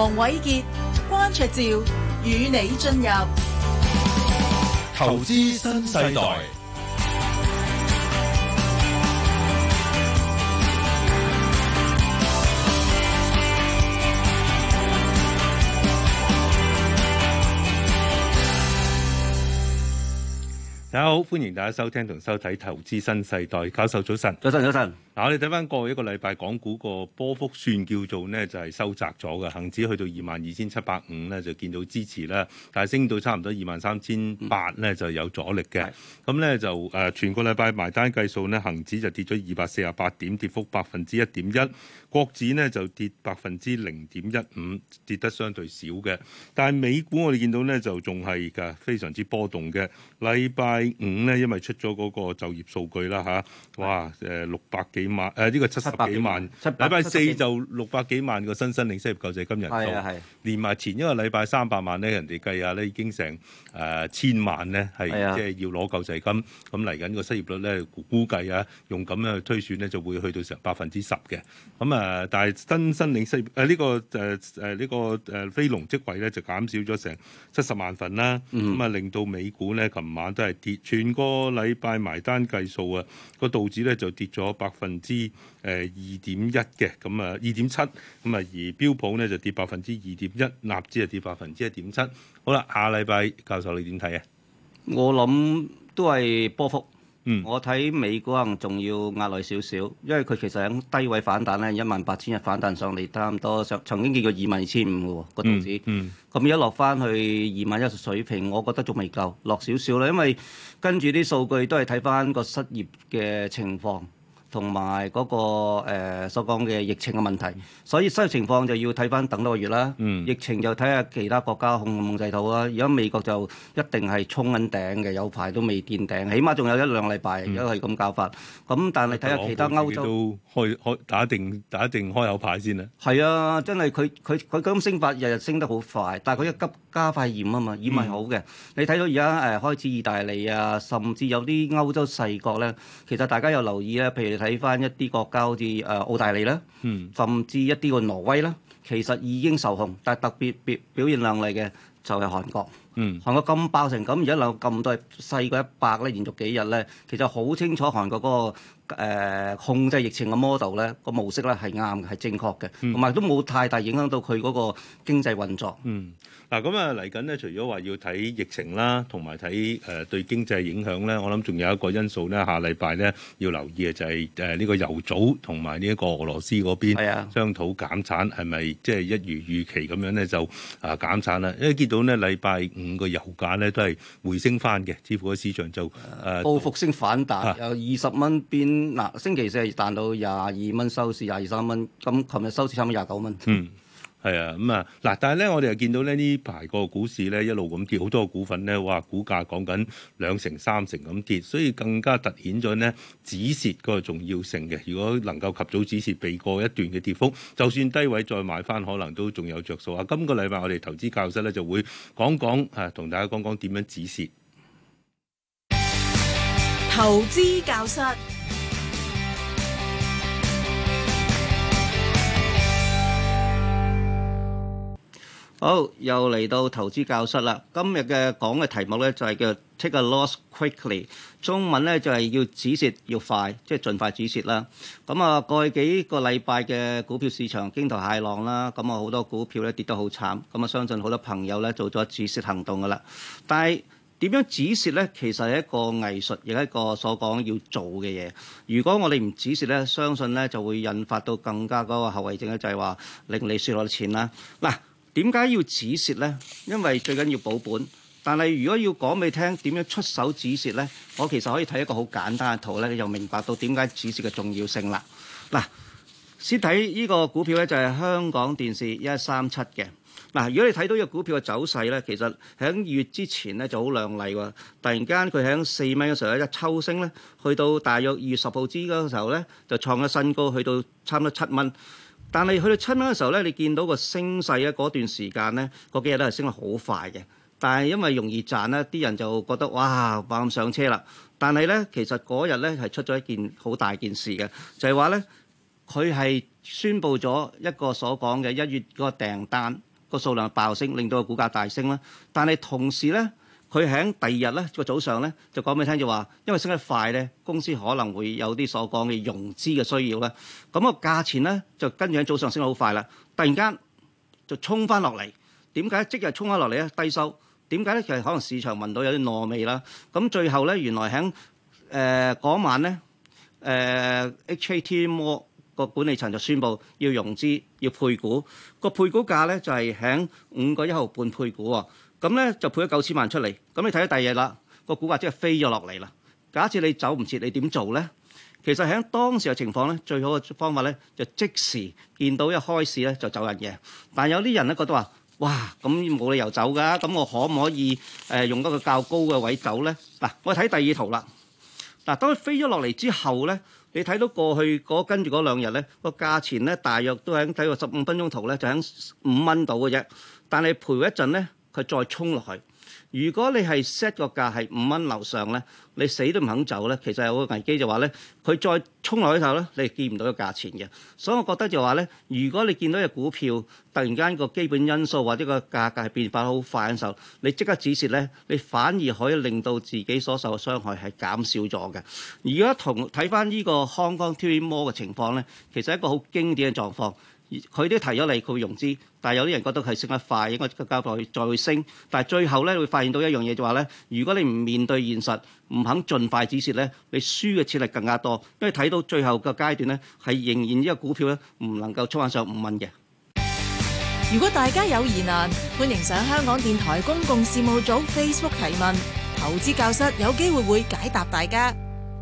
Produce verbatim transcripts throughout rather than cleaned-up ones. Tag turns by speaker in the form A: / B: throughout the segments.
A: 黃偉傑、關焯照與你進入
B: 投資新世代。
C: 大家好，歡迎大家收聽同收睇《投資新世代》。教授早晨，
D: 早晨，早晨。
C: 嗱，我哋睇翻過去一個禮拜，港股個波幅算叫做呢，就係收窄咗嘅。恒指去到二萬二千七百五呢，就見到支持啦，但係升到差唔多二萬三千八呢，就有阻力嘅。咁呢，就誒、呃、全個禮拜埋單計數呢，恒指就跌咗二百四十八點，跌幅百分之一點一。國指呢就跌百分之零點一五，跌得相對少嘅。但係美股我哋見到呢，就仲係嘅非常之波動嘅。禮拜五呢，因為出咗嗰個就業數據啦嚇，哇誒六百幾萬誒呢個七十幾萬，禮拜四就六百幾萬個新申領失業救濟金人數，
D: 係啊係，
C: 連埋前一個禮拜三百萬咧，人哋計下咧已經成誒、呃、千萬咧係即係要攞救濟金，咁嚟緊個失業率咧估計啊，用咁樣去推算咧就會去到成百分之十嘅，咁啊但係新申領失業誒呢個誒誒呢個誒非農職位咧就減少咗成七十萬份啦，咁啊、嗯、令到美股咧琴晚都係跌，全個禮拜埋單計數啊，個道指咧就跌咗百分之誒二點一嘅，咁啊二點七，咁啊而標普咧就跌百分之二點一，納指就跌百分之一點七。好啦，下禮拜教授你點睇啊？
D: 我諗都係波幅。
C: 嗯，
D: 我睇美股可能仲要壓耐少少，因為佢其實喺低位反彈咧，一萬八千日反彈上嚟，差唔多上曾經見過二萬二千五嘅喎個道指。嗯，咁而家落翻去二萬一水平，我覺得仲未夠，落少少啦，因為跟住啲數據都係睇翻個失業嘅情況。同埋嗰個、呃、所講嘅疫情嘅問題，所以失業情況就要睇翻等多個月啦。嗯、疫情就睇下其他國家控唔控制到啦。而家美國就一定係衝緊頂嘅，有排都未見頂，起碼仲有一兩禮拜，而家係咁搞法。咁、嗯、但係睇下其他歐洲
C: 都開開打定打定開口牌先啦。
D: 係啊，真係佢佢佢咁升法，日日升得好快，但係佢一急加快驗啊嘛，驗係好嘅。嗯、你睇到而家誒開始意大利啊，甚至有啲歐洲細國咧，其實大家有留意咧，譬如睇翻一啲國家好似誒澳大利啦，嗯、甚至一啲個挪威啦，其實已經受控，但係特別表表現亮麗嘅就係韓國。嗯、韓國咁爆成咁，而家有咁多細過一百咧，連續幾日咧，其實好清楚韓國嗰、嗰個、呃、控制疫情嘅 model 咧，個模式咧係啱嘅，係正確嘅，同埋、嗯、都冇太大影響到佢嗰個經濟運作。嗯，
C: 嗱咁啊嚟緊咧，除咗話要睇疫情啦，同埋睇誒對經濟影響咧，我諗仲有一個因素咧，下禮拜咧要留意嘅就係誒呢個油組同埋呢一個俄羅斯嗰邊商討減產，係咪即係一如預期咁樣咧就啊減產啦？因為見到呢禮拜五個油價咧都係回升翻嘅，似乎個市場就誒、呃、
D: 報復性反彈，啊、由二十蚊變嗱星期四係彈到廿二蚊收市，廿二三蚊，咁琴日收市差唔多廿九蚊。
C: 嗯。係啊，咁啊嗱，但係咧，我哋又見到咧呢排個股市咧一路咁跌，好多個股份咧，哇，股價講緊兩成、三成咁跌，所以更加突顯咗呢止蝕個重要性嘅。如果能夠及早止蝕，避過一段嘅跌幅，就算低位再買翻，可能都仲有着數啊！今個禮拜我哋投資教室咧就會講講啊，同大家講講點樣止蝕。
A: 投資教室。
D: 好，又嚟到投資教室啦。今日嘅講嘅題目咧就係叫 Take a loss quickly， 中文咧就係要止蝕要快，即係盡快止蝕啦。咁啊，過去幾個禮拜嘅股票市場驚濤駭浪啦，咁啊好多股票咧跌得好慘，咁啊相信好多朋友咧做咗止蝕行動噶啦。但係點樣止蝕咧？其實係一個藝術，亦係一個所講要做嘅嘢。如果我哋唔止蝕咧，相信咧就會引發到更加嗰個後遺症咧，就係話令你輸落錢啦。嗱。點解要止蝕呢？因為最緊要保本。但係如果要講俾你聽點樣出手止蝕呢？我其實可以睇一個好簡單嘅圖咧，你就明白到點解止蝕嘅重要性啦。嗱，先睇呢個股票咧，就係香港電視一一三七嘅。嗱，如果你睇到呢個股票嘅走勢咧，其實喺二月之前咧就好亮麗喎。突然間佢喺四蚊嘅時候咧一抽升咧，去到大約二月十號之嗰個時候咧就創咗新高，去到差唔多七蚊。但係去到七蚊嘅時候咧，你見到個升勢咧，嗰段時間咧，嗰幾日都係升得好快嘅。但係因為容易賺咧，啲人就覺得哇，猛咁上車啦。但係咧，其實嗰日咧係出咗一件好大件事嘅，就係話咧，佢係宣布咗一個所講嘅一月嗰個訂單個數量爆升，令到個股價大升啦。但係同時咧，佢喺第二日咧個早上咧就講俾你聽就話，因為升得快咧，公司可能會有啲所講嘅融資嘅需要啦。咁個價錢咧就跟住喺早上升得好快啦，突然間就衝翻落嚟。點解即日衝翻落嚟咧？低收。點解咧？其實可能市場聞到有啲糯味啦。咁最後咧，原來喺誒嗰晚咧，誒、呃、H A T More 個管理層就宣布要融資，要配股。個配股價咧就係喺五個一毫半配股喎。咁咧就配咗九千萬出嚟。咁你睇到第二日啦，個股價即係飛咗落嚟啦。假設你走唔切，你點做咧？其實喺當時嘅情況咧，最好嘅方法咧就即時見到一開市咧就走人嘅。但有啲人咧覺得話，哇，咁冇理由走㗎，咁我可唔可以誒、呃、用一個較高嘅位走咧？嗱，我睇第二圖啦。嗱，當佢飛咗落嚟之後咧，你睇到過去嗰跟住嗰兩日咧，個價錢咧大約都喺睇個十五分鐘圖咧，就喺五蚊度嘅啫。但係陪一陣咧，佢再衝落去。如果你係 set 個價係五蚊樓上咧，你死都唔肯走咧，其實有個危機就話咧，佢再衝落去頭咧，你係見唔到個價錢嘅。所以我覺得就話咧，如果你見到隻股票突然間個基本因素或者個價格係變化好快嘅時候，你即刻止蝕咧，你反而可以令到自己所受嘅傷害係減少咗嘅。如果同睇翻呢個 Hong Kong T V Mall 嘅情況咧，其實係一個好經典嘅狀況。佢都提咗你，佢會融資，但係有啲人覺得係升得快，應該交代再去升。但係最後咧，你會發現到一樣嘢就話咧，如果你唔面對現實，唔肯盡快止蝕咧，你輸嘅錢係更加多。因為睇到最後個階段咧，係仍然呢個股票咧唔能夠衝翻上五蚊嘅。
A: 如果大家有疑難，歡迎上香港電台公共事務組 Facebook 提問，投資教室有機會會解答大家。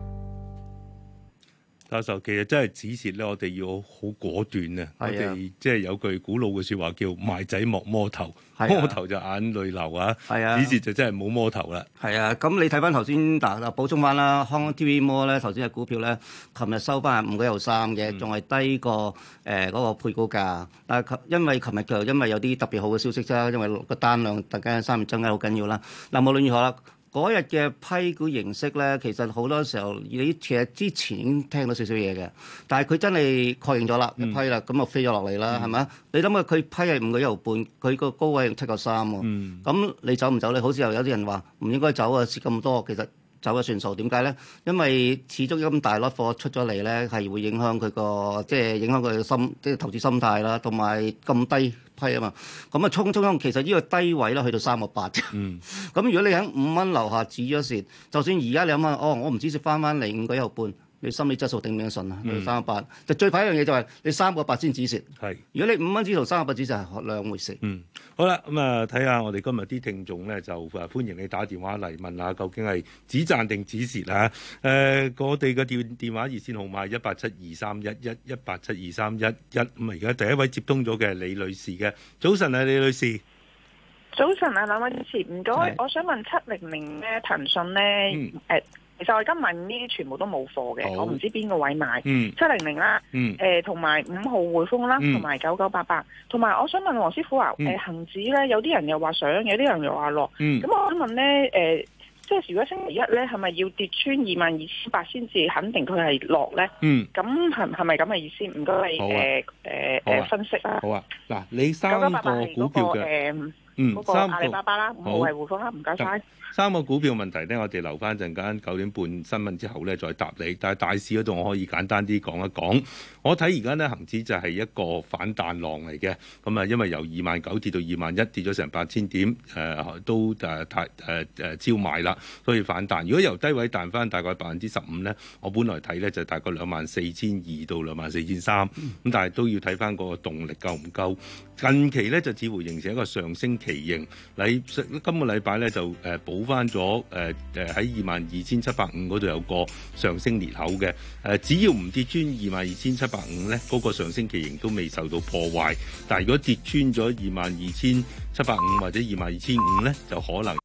C: 教授，其實真係止蝕咧，我哋要好果斷啊！我哋即係有句古老嘅説話叫賣仔莫摸頭，摸頭就眼淚流啊！止蝕就真係冇摸頭啦。係啊，咁你睇翻頭先嗱嗱補充翻啦，Hong Kong T V Mall 咧頭先嘅股票咧，琴日收翻係五個一毫三嘅，仲係低過誒嗰個配股價。但係因為琴日就因為有啲特別好嘅消息啫，因為個單量突然間三月增加好緊要啦。嗱，無論如何啦。嗰日嘅批股形式咧，其實好多時候你其實之前已經聽到少少嘢嘅，但係佢真係確認咗啦，嗯、一批啦，咁就飛咗落嚟啦，係咪啊？你諗下佢批係五個一毫半，佢個高位七個三喎，咁、嗯、你走唔走咧？好似又有啲人話唔應該走啊，蝕咁多，其實走咗算數。點解咧？因為始終咁大粒貨出咗嚟咧，係會影響佢個即係影響佢嘅心，即係投資心態啦，同埋咁低批啊嘛，咁啊衝衝衝，其實呢個低位啦，去到三個八。嗯，咁如果你喺五蚊樓下止咗蝕，就算而家你諗下，哦，我唔止蝕翻翻嚟五個一毫半，你心理質素頂唔頂得順啊？嗯、三個八，就最怕一樣嘢就係你三個八先止蝕。係是，如果你五蚊止同三個八止蝕係兩回事。嗯，好啦，咁啊睇下我哋今日啲聽眾咧，就誒歡迎你打電話嚟問下究竟係止賺定止蝕啊？誒、呃，我哋嘅電電話熱線號碼係一八七二三一一一八七二三一一。咁啊，而家第一位接通咗嘅李女士嘅，早晨啊，李女士。
B: 早晨啊，兩位主持，唔該，是我想問七零零咧，騰訊咧，誒、嗯呃，其實我今日呢啲全部都冇貨嘅，好我唔知邊個位買，七零零啦，誒，同埋五號匯豐啦，同埋九九八八，同埋我想問黃師傅話，誒、呃，恒指咧，有啲人又話上，有啲人又話落，咁、嗯、我想問咧，誒、呃，即係如果星期一咧，係咪要跌穿二萬二千八先至肯定佢係落咧？咁係係咪咁嘅意思？唔該你誒誒誒分析啊。好啊，嗱，你三個股票嘅。嗯，嗰個阿里巴巴啦，五號係匯豐啦，唔該晒。三個股票問題咧，我哋留翻陣間九點半新聞之後咧再答你。但係大市嗰度我可以簡單啲講一講。我睇而家咧恆指就係一個反彈浪嚟嘅。咁啊，因為由二萬九跌到二萬一，跌咗成八千點，誒、呃、都誒太誒誒超賣啦，所以反彈。如果由低位彈翻大概百分之十五咧，我本來睇咧就大概兩萬四千二到兩萬四千三。咁但係都要睇翻嗰個動力夠唔夠。近期咧就似乎形成一個上升旗形。禮今個禮拜咧就誒補翻咗誒誒喺二萬二千七百五嗰度有個上升裂口嘅。誒、呃、只要唔跌穿二萬二千七百五咧，嗰、那個上升旗形都未受到破壞。但係如果跌穿咗二萬二千七百五或者二萬二千五咧，就可能。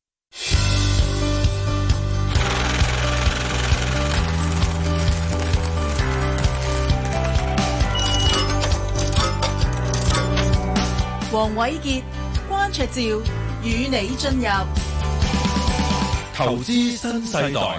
A: 黃瑋傑、關焯照與你進入
E: 投資新世代。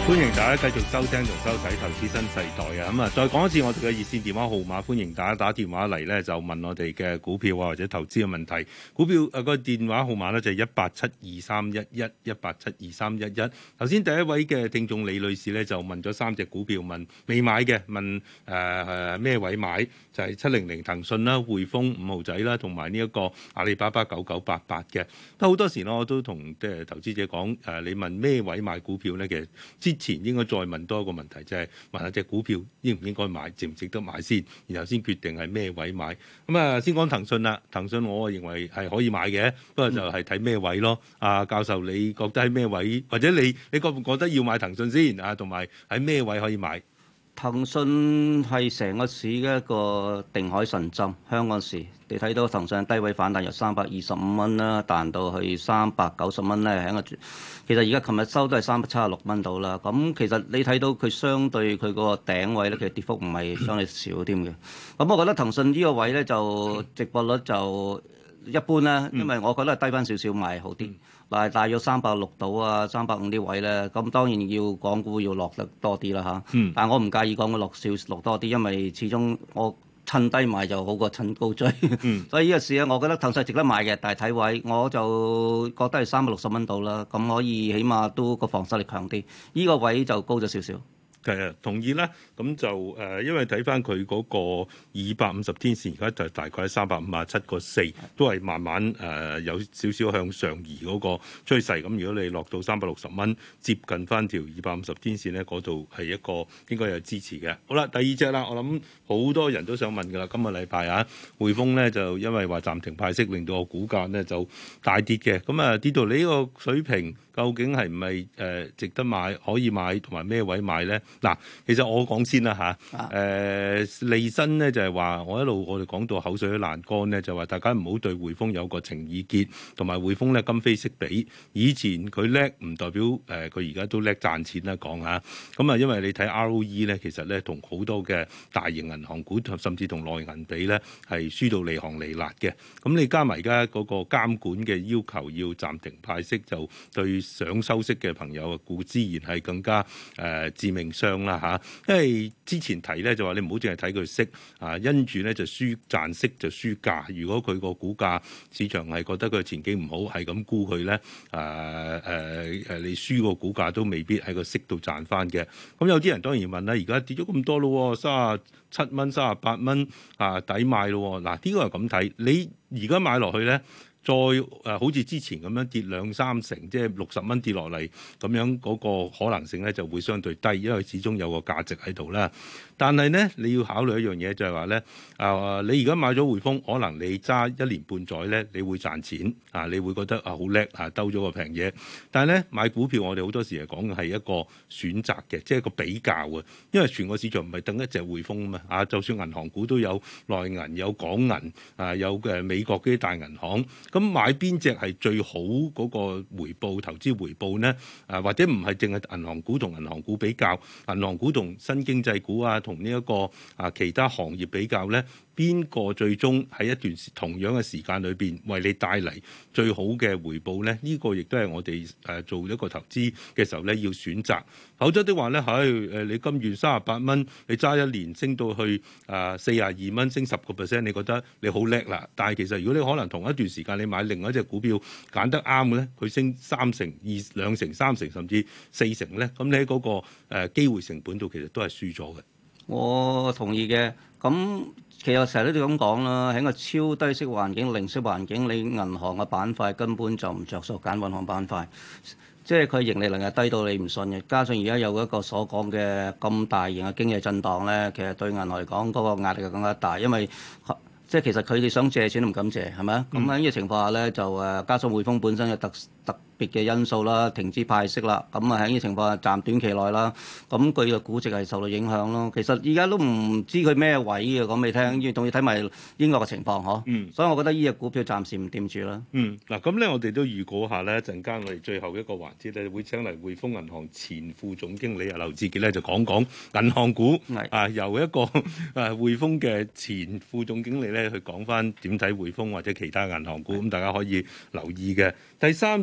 C: 歡迎大家繼續收聽同收睇《投資新世代》啊！咁啊，再講一次我哋嘅熱線電話號碼，歡迎大家打電話嚟咧，就問我哋嘅股票啊或者投資嘅問題。股票誒個電話號碼咧就係一八七二三一一一八七二三一一。頭先第一位嘅聽眾李女士咧就問咗三隻股票，問未買嘅，問誒誒咩位買，就係七零零騰訊啦、匯豐五號仔啦，同埋呢一個阿里巴巴九九八八嘅。都好多時咧，我都同即係投資者講誒，你問咩位買股票咧，其實之前應該再問多一個問題，就係、是、問下隻股票應唔應該買，值唔值得買先，然後先決定係咩位買。咁啊，先講騰訊啦。騰訊我認為係可以買嘅，不過就係睇咩位咯。啊，教授你覺得喺咩位，或者你你覺唔覺得要買騰訊先啊？同埋喺咩位可以買？
D: 騰訊係成個市嘅一個定海神針，香港市你睇到騰訊低位反彈由三百二十五蚊啦，彈到去三百九十蚊咧，喺個其實而家琴日收都係三百七十六蚊到啦。咁其實你睇到佢相對佢個頂位咧，其實跌幅唔係相對少添嘅。咁我覺得騰訊呢個位咧就值博率就一般啦，因為我覺得係低翻少少買好啲。嗱，大約三百六到啊，三百五啲位咧，咁當然要港股要落得多啲啦嚇。嗯、但係我唔介意港股落少落多啲，因為始終我趁低買就好過趁高追。嗯、所以呢個市咧，我覺得騰訊值得買嘅，但係睇位我就覺得係三百六十蚊到啦，咁可以起碼都個防守力強啲。呢、呢個位就高咗少少。
C: 係啊，同意啦。咁就誒、呃，因為睇翻佢嗰個二百五十天線，而家就大概喺三百五十七個四，都係慢慢誒、呃、有少少向上移嗰個趨勢。咁如果你落到三百六十蚊，接近翻條二百五十天線咧，嗰度係一個應該有支持嘅。好啦，第二隻啦，我諗好多人都想問㗎啦。今個禮拜啊，匯豐咧就因為話暫停派息，令到個股價咧就大跌嘅。咁啊跌到你呢個水平，究竟係唔係誒值得買、可以買同埋咩位買咧？嗱，其實我講先啦嚇，誒、啊呃、利申咧就係話，我一路我哋講到口水都爛乾咧，就話大家唔好對匯豐有個情意結，同埋匯豐咧今非昔比，以前佢叻唔代表誒佢而家都叻賺錢啦講嚇，咁啊因為你睇 R O E 咧，其實咧同好多嘅大型銀行股甚至同內銀比咧係輸到離行離辣嘅，咁你加埋而家嗰個監管嘅要求要暫停派息，就對想收息嘅朋友啊，固之然係更加誒、呃、致命傷啦嚇，因為之前提咧就話你唔好淨係睇佢息啊，因住咧就輸賺息就輸價。如果佢個股價市場係覺得佢前景唔好，係咁沽佢咧，誒誒誒，你輸個股價都未必喺個息度賺翻嘅。咁有啲人當然問啦，而家跌咗咁多咯，三十七蚊、三十八蚊啊，抵買咯。嗱，呢個係咁睇，你而家買落去咧。再誒、呃、好似之前咁樣跌兩三成，即係六十蚊跌落嚟，咁樣嗰個可能性咧就會相對低，因為始終有個價值喺度啦。但係咧，你要考慮一樣嘢就係話咧，啊，你而家買咗匯豐，可能你揸一年半載咧，你會賺錢啊，你會覺得啊好叻啊，兜咗個平嘢。但係咧買股票，我哋好多時係講嘅係一個選擇嘅，即係一個比較啊。因為全個市場唔係等一隻匯豐啊嘛，啊，就算銀行股都有內銀、有港銀啊，有誒美國嗰啲大銀行。咁買邊隻係最好嗰個回報、投資回報呢？啊，或者唔係淨係銀行股同銀行股比較，銀行股同新經濟股啊，同呢一個啊其他行業比較呢？邊個最終喺一段同樣嘅時間裏邊為你帶嚟最好嘅回報呢？呢、呢個亦都係我哋誒做一個投資嘅時候咧要選擇。否則的話咧，喺誒你今月三十八蚊，你揸一年升到去誒四十二蚊，升十個 percent， 你覺得你好叻啦。但係其實如果你可能同一段時間你買另外一隻股票揀得啱嘅咧，佢升三成、二兩成、三成甚至四成咧，咁你喺嗰個誒機會成本度其實都係輸咗嘅。
D: 我同意嘅。咁其實成日都咁講啦，喺個超低息環境、零息環境，你銀行嘅板塊根本就唔着數揀銀行板塊，即係佢盈利能力低到你唔信嘅。加上而家有一個所講嘅咁大型嘅經濟震盪咧，其實對銀行嚟講嗰個壓力就更加大，因為即係其實佢哋想借錢都唔敢借，係咪啊？咁喺呢個情況下咧，就誒加上匯豐本身嘅特特別嘅因素啦，停止派息啦，咁啊喺呢個情況下暫短期內啦，咁佢嘅估值係受到影響咯。其實而家都唔知佢咩位嘅，講俾你聽，要仲要睇埋英國嘅情況嗬。嗯。所以我覺得呢隻股票暫時唔掂住啦。
C: 嗯。嗱，咁咧我哋都預告下咧，一陣間我哋最後一個環節咧，會請嚟匯豐銀行前副總經理啊劉志傑咧，就講講銀行股。係。啊，由一個誒匯豐嘅前副總經理咧去講翻點睇匯豐或者其他銀行股，咁大家可以留意嘅。第三隻股票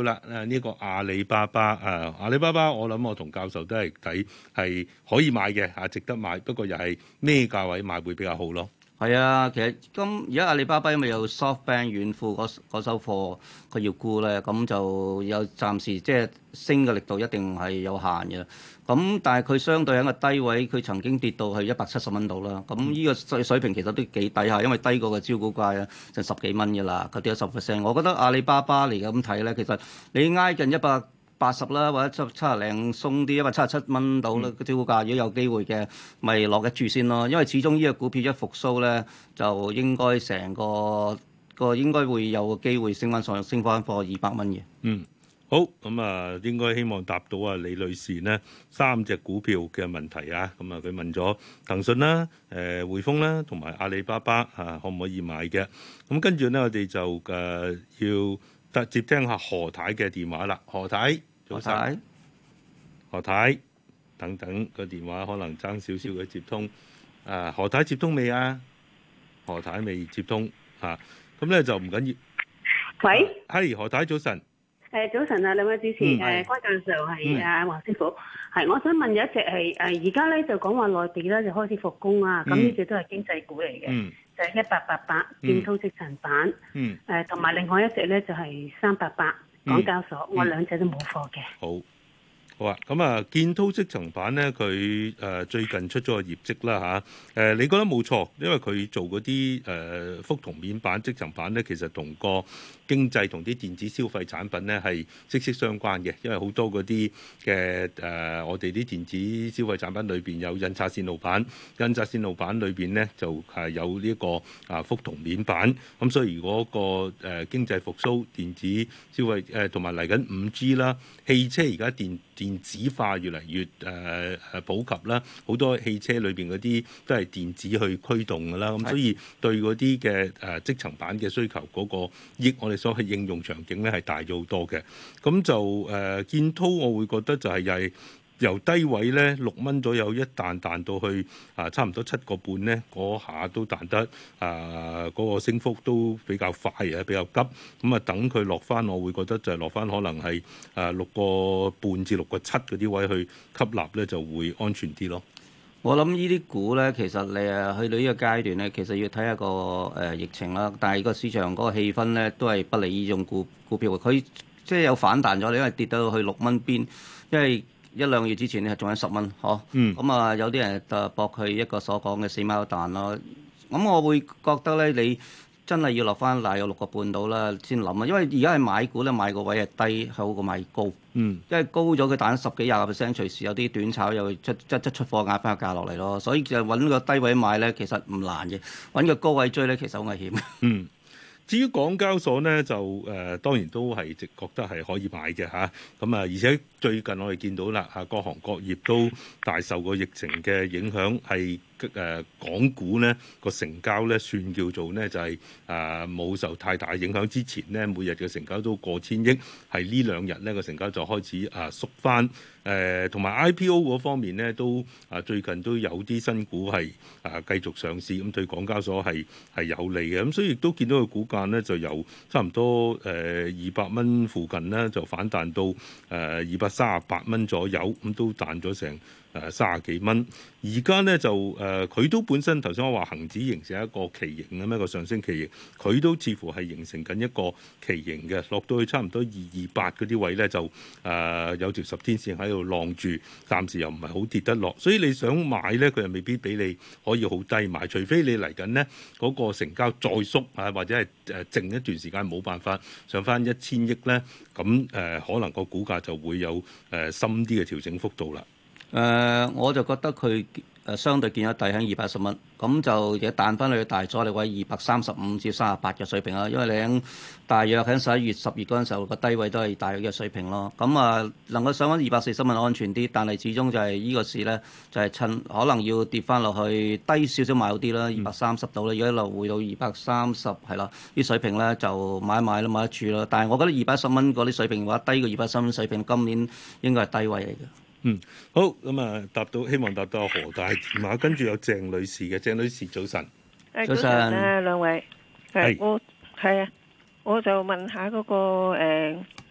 C: 啦，誒、這、呢個阿里巴巴啊，阿里巴巴我諗我同教授都係睇係可以買嘅嚇，值得買，不過又係咩價位買會比較好咯？
D: 係啊，其實今而家阿里巴巴因為有 SoftBank 軟庫嗰嗰手貨佢要沽咧，咁就有暫時即係升嘅力度一定係有限嘅。咁但係佢相對喺個低位，佢曾經跌到去一百七十蚊度啦。咁呢個水水平其實都幾低下，因為低過個招股價啊，成十幾蚊嘅啦，佢跌咗十 percent。我覺得阿里巴巴嚟咁睇咧，其實你挨近一百八十啦，或者七七十零鬆啲，一百七十七蚊到啦。個招股價如果有機會嘅，咪落一注先咯。因為始終呢個股票一復甦咧，就應該成個個應該會有機會升翻上，升翻過二百蚊嘅。
C: 嗯。好咁啊，應該希望答到啊李女士呢三隻股票嘅問題啊。咁啊，佢問咗騰訊啦、誒匯豐啦，同埋阿里巴巴啊，可唔可以買嘅？咁跟住呢，我哋就誒、啊、要得接聽下何太嘅電話啦。何太，早晨。何太，等等個電話可能爭少少嘅接通。啊，何太接通未啊？何太未接通嚇，咁、啊、咧就唔緊要。
F: 喂，
C: 係、啊、何太，早晨。
F: 誒早晨啊，兩位主持，誒關教授係啊黃師傅，係我想問有一隻係誒而家咧就講話內地咧就開始復工啊，咁呢隻都係經濟股嚟嘅，嗯、就係一八八八建滔積層板，誒同埋另外一隻咧就係三八八港交所，嗯、我兩隻都冇貨嘅。
C: 好。好啊，咁啊，建滔積層板咧，佢誒最近出咗個業績啦嚇，誒、啊、你覺得冇錯，因為佢做嗰啲誒覆銅面板積層板咧，其實同個經濟同啲電子消費產品咧係息息相關嘅，因為好多嗰啲嘅誒我哋啲電子消費產品裏邊有印刷線路板，印刷線路板裏邊咧就係有呢、這個啊覆銅面板，咁所以如果個誒、呃、經濟復甦，電子消費誒同埋嚟緊五 G 啦，汽車而家電電子化越嚟越誒誒、呃、普及啦，好多汽車裏邊嗰啲都係電子去驅動㗎啦，咁所以對嗰啲嘅誒積層板嘅需求嗰、那個益，我哋所謂應用場景咧係大咗好多嘅。咁就誒、呃、建滔，我會覺得就係又係由低位咧六蚊左右一彈彈到去啊、呃、差唔多七個半咧，嗰下都彈得啊嗰、呃那個升幅都比較快啊，比較急。咁啊等佢落翻，我會覺得就係落翻可能係啊六個半至六個七嗰啲位去吸納咧，就會安全啲咯。
D: 我諗呢啲股咧，其實你誒去到呢個階段咧，其實要睇下個誒、呃、疫情啦。但係個市場嗰個氣氛咧，都係不利呢種股股票。佢即係有反彈咗，因為跌到去六蚊邊，因為一兩個月之前咧仲有十蚊，嗬。嗯。咁啊，有啲人就搏佢一個所講嘅死貓彈咯。咁我會覺得咧，你真係要落翻大約六個半到啦，先諗啊。因為而家係買股咧，買個位係低，好過買高。嗯，因為高咗佢彈十幾廿個 percent，隨時有啲短炒又出即即出貨壓翻個價落嚟咯，所以就揾個低位買咧，其實唔難嘅；揾個高位追咧，其實好危險。
C: 嗯，至於港交所咧，就誒、呃、當然都係直覺得係可以買嘅嚇。咁啊，而且最近我哋見到啦嚇，各行各業都大受個疫情嘅影響，係。誒、呃、港股咧個成交咧算叫做咧就係誒冇受太大影響。之前咧每日嘅成交都過千億，係呢兩日咧個成交就開始啊縮翻。誒同埋 I P O 嗰方面咧都啊最近都有啲新股係啊繼續上市，咁對港交所係係有利嘅。咁所以亦都見到個股價咧就由差唔多誒二百蚊附近咧就反彈到誒二百三十八蚊左右，咁都彈咗成誒三十幾蚊。而家咧就誒佢、呃、都本身頭先我話恒指形成一個旗形咁一個上升旗形，佢都似乎係形成緊一個旗形嘅，落到去差唔多二二八嗰啲位咧就誒、呃、有條十天線喺度晾住，暫時又唔係好跌得落，所以你想買咧佢又未必俾你可以好低買，除非你嚟緊呢嗰個成交再縮啊，或者係誒靜一段時間冇辦法上翻一千億咧，咁誒、呃、可能個股價就會有誒、呃、深啲嘅調整幅度啦。
D: 誒、呃，我就覺得佢誒相對見咗底喺二百一十蚊，咁就亦彈翻去大阻力位二百三十五至三十八嘅水平啦。因為你喺大約喺十一月、十月嗰陣時候個低位都係大約嘅水平咯。咁啊，能夠上翻二百四十蚊安全啲，但係始終就係呢個市咧，就係、是、趁可能要跌翻落去低少少買好啲啦，二百三十度啦。如果一路回到二百三十係啦，啲水平咧就買一買啦，買得住啦。但係我覺得二百一十蚊嗰啲水平嘅話，低過二百三蚊水平，今年應該係低位嚟嘅。
C: 嗯，好，咁啊，答到希望答到何大電話，跟住有鄭女士嘅，鄭女士早晨，
F: 早晨啊兩位，係我係啊，我就問下嗰、那個誒誒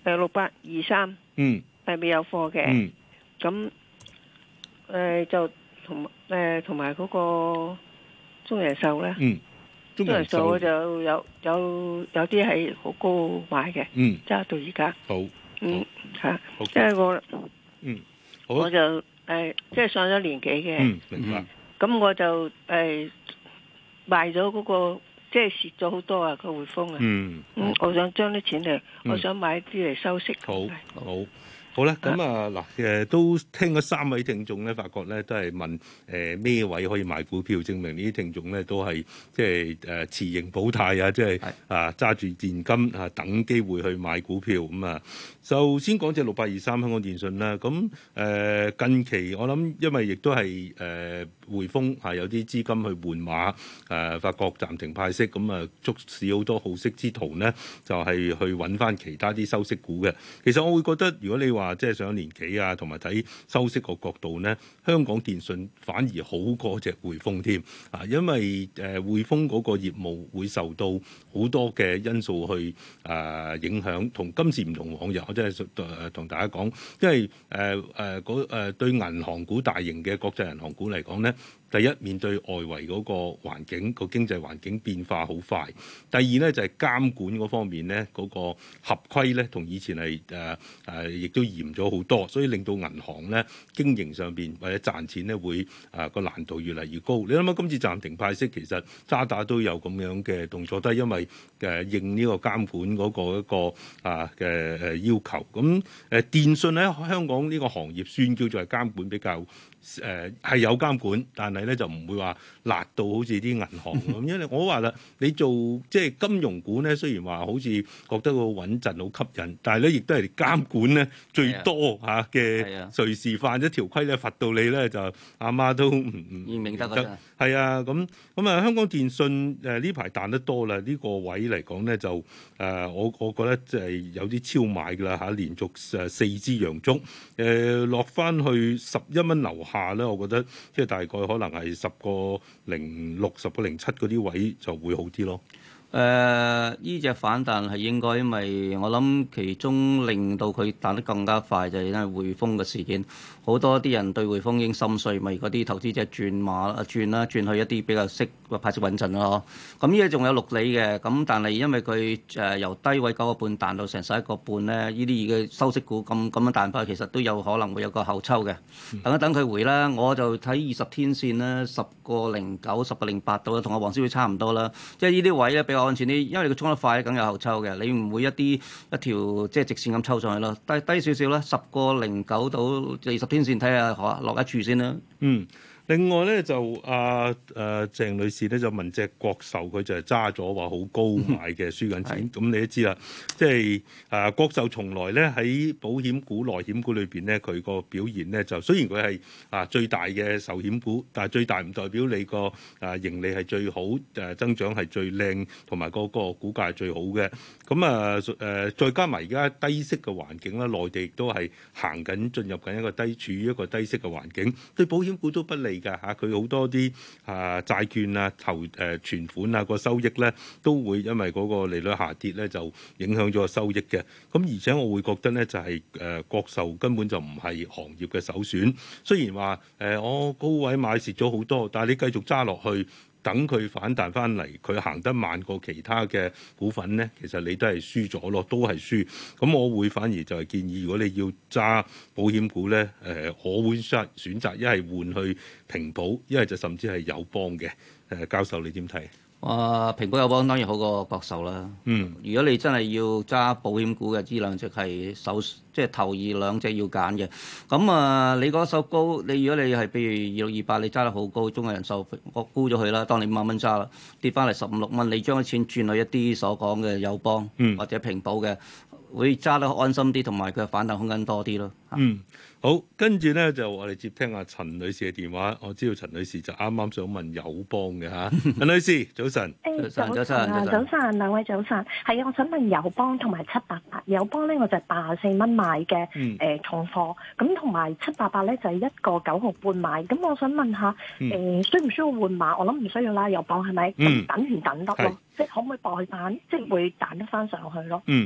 G: 誒六八二三，
C: 嗯，
G: 係未有貨嘅。
C: 嗯，
G: 咁誒就同誒同埋嗰個中人壽咧。
C: 嗯。
G: 中人壽我就有有有啲係好高買嘅，
C: 嗯，
G: 揸到而家。
C: 好，
G: 嗯嚇，
C: 好
G: 即係我，
C: 嗯，好
G: 我就誒、呃、即係上咗年紀嘅，
C: 嗯，明白。
G: 咁我就誒、呃、賣咗嗰、那個，即係蝕咗好多啊個匯豐啊，
C: 嗯，
G: 嗯，我想將啲錢嚟，嗯、我想買啲嚟收息。
C: 好，好。好啦，咁啊嗱，誒都聽咗三位聽眾咧，發覺咧都係問誒咩位可以買股票，證明呢啲聽眾咧都係即係誒持盈保泰啊，即係啊揸住現金啊等機會去買股票咁啊。就先講隻六八二三香港電訊啦，咁誒近期我諗因為亦都係誒匯豐係有啲資金去換馬，誒發覺暫停派息，咁啊促使好多好息之徒呢，就係去揾翻其他啲收息股嘅。其實我會覺得，如果你話即係上年紀啊，同埋睇收息個角度呢，香港電訊反而好過隻匯豐添啊，因為誒匯豐嗰個業務會受到好多嘅因素去誒影響，同今時唔同往日。即係誒同大家講，因為誒誒嗰誒對銀行股大型嘅國際銀行股嚟講咧，第一面對外圍嗰個環境個經濟環境變化好快，第二咧就係、是、監管嗰方面咧嗰、那個合規咧同以前係誒誒亦都嚴咗好多，所以令到銀行咧經營上邊或者賺錢咧會誒個、呃、難度越嚟越高。你諗下今次暫停派息，其實渣打都有咁樣嘅動作，都係因為誒、呃、應呢個監管嗰個一個啊嘅誒要求。咁誒、呃、電訊喺香港呢個行業算叫做係監管比較誒係、呃、有監管，但係咧就唔會話辣到好似啲銀行咁。因為我話啦，你做即係金融股咧，雖然話好似覺得好穩陣、好吸引，但係咧亦都係監管咧最多嚇嘅，隨時犯一條規咧罰到你咧就阿媽都唔唔
D: 明得㗎。
C: 係啊，咁咁啊，香港電訊誒呢排彈得多啦，呢、呢個位嚟講咧就誒、呃、我我覺得即係有啲超買㗎啦嚇，連續誒四支陽燭誒落翻去十一蚊樓下咧，我覺得即係大概可能係十個零六、十個零七嗰啲位就會好啲咯。
D: 誒呢隻反彈係應該，因為我諗其中令到佢彈得更加快就係因為匯豐嘅事件，好多啲人對匯豐已經心碎，咪嗰啲投資者轉馬啊轉啦，轉去一啲比較息派息穩陣咯。咁呢啲仲有六厘嘅，咁但係因為佢誒由低位九個半彈到成十一個半咧，呢啲嘅收息股咁咁樣彈翻，其實都有可能會有個後抽嘅。等一等佢回啦，我就睇二十天線啦，十個零九、十個零八度啦，同阿黃師傅差唔多啦。即係呢啲位咧比較安全啲，因為你佢衝得快，梗有後抽嘅。你唔會一啲一條即係直線咁抽上去咯，低低少少啦，十個零九到二十天線睇下落一處先啦。
C: 嗯。另外咧就阿誒、呃、鄭女士咧就問隻國壽，佢就係揸咗話好高買嘅，輸緊錢。咁你都知啦，即係誒國壽從來咧喺保險股、內險股裏邊咧，佢個表現咧就雖然佢係啊最大嘅壽險股，但係最大唔代表你個誒盈利係最好，誒增長係最靚，同埋個個股價係最好嘅。咁啊誒再加埋而家低息嘅環境啦，內地亦都係行緊進入緊一個低處於一個低息嘅環境，對保險股都不利。㗎嚇，佢好多啲啊債券啊投誒、呃、存款啊個收益咧，都會因為嗰個利率下跌咧，就影響咗個收益嘅。咁而且我會覺得咧，就係、是、誒、呃、國壽根本就唔係行業嘅首選。雖然話誒、呃、我高位買蝕咗好多，但係你繼續揸落去。等佢反彈翻嚟，佢行得慢過其他嘅股份咧，其實你都係輸咗咯，都係輸。咁我會反而就係建議，如果你要揸保險股咧，誒、呃，我會選選擇一係換去平保，一係就甚至係友邦嘅。誒、呃，教授你點睇？
D: 哇！平保友邦當然好過國壽啦。嗯，如果你真係要揸保險股嘅，呢兩隻係首即係頭二兩隻要揀嘅。咁啊，你嗰手高，你如果你係譬如二六二八，你揸得好高，中國人壽我沽咗佢啦，當你五萬蚊揸啦，跌翻嚟十五六蚊，你將啲錢轉去一啲所講嘅友邦、嗯、或者平保嘅，會揸得安心啲，同埋佢反彈空間多啲咯。
C: 嗯。好，跟住咧就我哋接聽阿陳女士嘅電話。我知道陳女士就啱啱想問友邦嘅嚇，陳女士早晨。
H: 誒早晨啊，早晨兩位早晨。係啊，我想問友邦同埋七八八。友邦咧我就係八十四蚊買嘅，誒、嗯呃、重貨。咁同埋七八八咧就係一個九毫半買。咁我想問下，誒、嗯呃、需唔需要換碼？我諗唔需要啦。友邦係咪？咁、嗯、等唔等得咯？即係可唔可以代彈？即係會彈得翻上去咯？
C: 嗯。誒、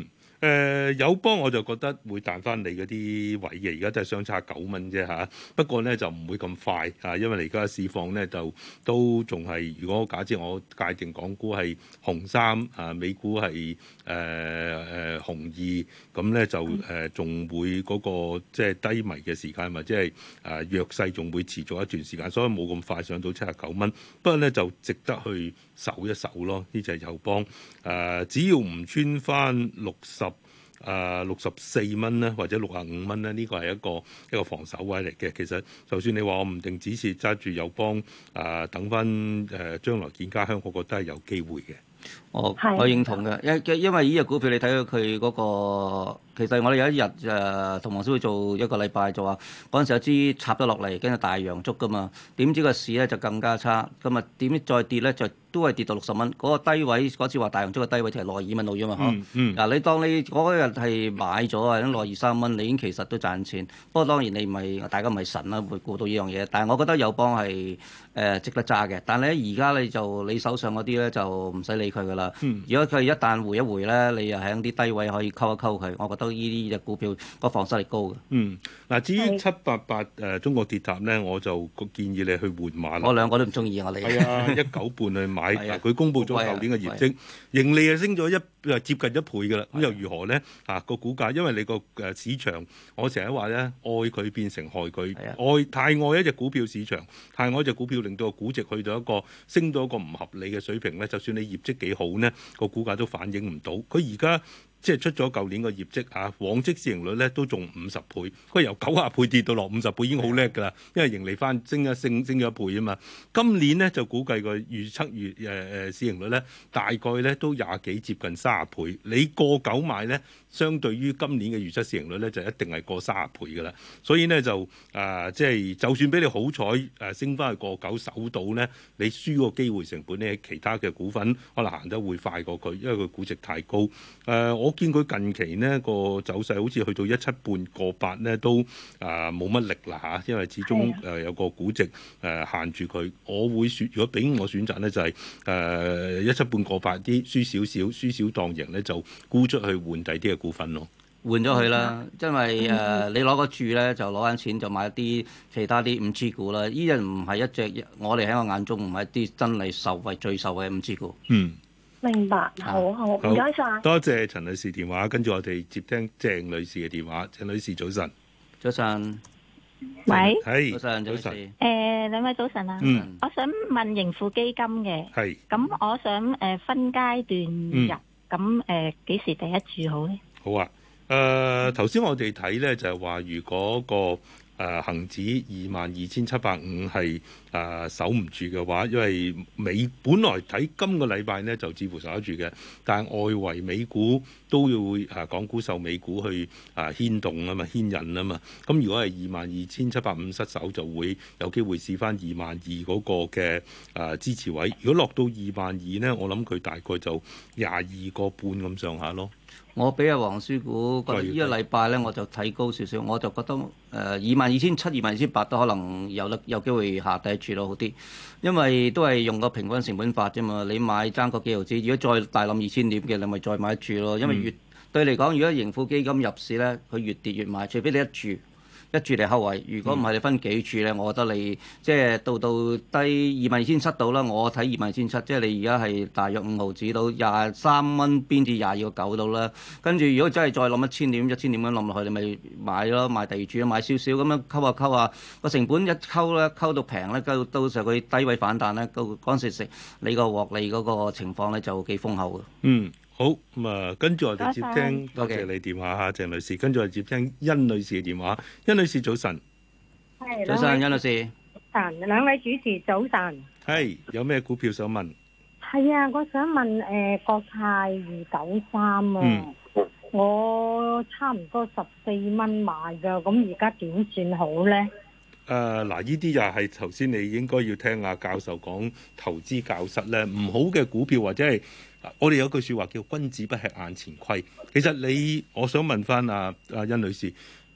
C: 誒友邦我就覺得會彈翻你嗰啲位嘅，而家都係相差九蚊啫嚇。不過咧就唔會咁快嚇，因為而家市況咧就都仲係，如果假設我界定港股係紅三啊，美股係誒誒紅二，咁咧就誒仲、呃、會嗰、那個即係低迷嘅時間，或者係誒弱勢仲會持續一段時間，所以冇咁快上到七十九蚊。不過咧就值得去守一守咯，呢隻友邦誒，只要唔穿翻六十。誒六十四蚊咧，或者六十五蚊咧，呢個係一個一個防守位嚟嘅。其實就算你話我唔定止蝕揸住友邦，誒、呃、等翻誒、呃、將來見家鄉，我覺得係有機會嘅。
D: 我我認同嘅，因因為呢隻股票你睇到佢嗰個，其實我哋有一日誒同黃師傅做一個禮拜就話，嗰陣時有支插咗落嚟，跟住大陽燭噶嘛，點知個市咧就更加差，咁啊點知再跌咧就都係跌到六十蚊，嗰、那個低位嗰次話大陽燭嘅低位就係六十二蚊到啫嘛，嗬、嗯。嗯。嗱、啊，你當你嗰日係買咗啊，六十二三蚊，你已經其實都賺錢。不過當然你唔係大家唔係神啦，會估到呢樣嘢。但係我覺得友邦係誒、呃、值得揸嘅。但係咧而家你就你手上嗰啲咧就唔使理佢噶啦。嗯、如果佢一旦回一回咧，你又喺啲低位可以溝一溝佢，我覺得呢啲隻股票個防守力高嘅。嗯，
C: 嗱，至於七八八誒中國鐵塔咧，我就建議你去換馬啦。
D: 我兩個都唔中意我哋。
C: 係啊，一九半去買。嗱，佢公布咗舊年嘅業績，盈利係升咗一接近一倍㗎啦。咁又如何咧？啊，個股價，因為你個誒市場，我成日話咧，愛佢變成害佢，愛太愛一隻股票市場，太愛一隻股票，令到個估值去到一個升到一個唔合理嘅水平咧。就算你業績幾好咧，個股價都反映唔到。佢而家即係出咗舊年個業績啊，往績市盈率咧都仲五十倍，佢由九十倍跌到落五十倍已經好叻㗎啦，因為盈利翻升一升升咗一倍啊嘛。今年咧就估計個預測月誒誒市盈率咧大概咧都廿幾接近三十倍，你過九買咧，相對於今年嘅預測市盈率咧就一定係過三十倍㗎啦。所以咧就啊即係就算俾你好彩誒升翻去過九守到咧，你輸個機會成本咧，其他嘅股份可能行得會快過佢，因為佢估值太高。誒、呃、我見佢近期呢個走勢好似去到一七半過八咧都啊冇乜力啦嚇，因為始終誒有個估值誒限住佢。我會選，如果俾我選擇咧就係誒一七半過八啲輸少少，輸少當贏咧就沽出去換第啲嘅股份咯。
D: 換咗佢啦，因為誒、呃、你攞個注咧就攞緊錢就買一啲其他啲五 G 股啦。呢隻唔係一隻我哋喺我眼中唔係一啲真係受惠最受惠嘅五 G 股。
C: 嗯。
H: 明白，好好，唔該晒。
C: 多謝陳女士電話，跟住我哋接聽鄭女士嘅電話。鄭女士早晨，
D: 早晨，
I: 喂，
C: 係
D: 早晨，早晨。
I: 誒，兩位早晨啊，
C: 嗯，
I: 我想問盈富基金嘅，
C: 係，
I: 咁我想誒分階段入，咁誒幾時第一注好咧？
C: 好啊，誒頭先我哋睇咧就係話，如果個誒恆指二萬二千七百五係誒守唔住嘅話，因為美本來睇今個禮拜呢就似乎守得住嘅，但係外圍美股都要誒、啊、港股受美股去誒、啊、牽動啊嘛，牽引啊嘛。咁如果係二萬二千七百五失守，就會有機會試翻二萬二嗰個嘅誒、啊、支持位。如果落到二萬二呢，我諗佢大概就廿二個半咁上下咯。
D: 我俾阿黃師傅覺得呢個禮拜咧，我就睇高少少，我就覺得誒二萬二千七、二萬二千八都可能有得有機會下第一注咯，好啲，因為都係用個平均成本法啫嘛。你買爭個幾毫子，如果再大冧二千點嘅，你咪再買一注咯。因為越、嗯、對嚟講，如果盈富基金入市咧，佢越跌越買，除非你一注。一注嚟後圍，如果唔係你分幾注咧，我覺得你即係到到低二萬二千七到啦。我睇二萬二千七，即係你而家係大約五毫子到廿三蚊邊至廿二個九到啦。跟住如果真係再冧一千點、一千點咁冧落去，你咪買咯，買第二注咯，買少少咁樣溝下溝下，個成本一溝咧，溝到平咧，溝到時候佢低位反彈咧，嗰嗰陣時食你個獲利嗰個情況咧就幾豐厚嘅。
C: 嗯。好咁啊，跟住我哋接聽，多謝你電話嚇，鄭女士。跟住我哋接聽殷女士嘅電話。殷女士早晨，
J: 係
D: 早晨，殷女士。
J: 晨，兩位主持早晨。
C: 係有咩股票想問？
J: 係啊，我想問誒、呃、國泰二九三啊，嗯、我差唔多十四蚊買㗎，咁而家點算好咧？誒
C: 嗱、呃，呢啲又係頭先你應該要聽阿教授講投資教室咧，唔好嘅股票或者係。我哋有句説話叫君子不吃眼前虧。其實你，我想問翻阿阿殷女士，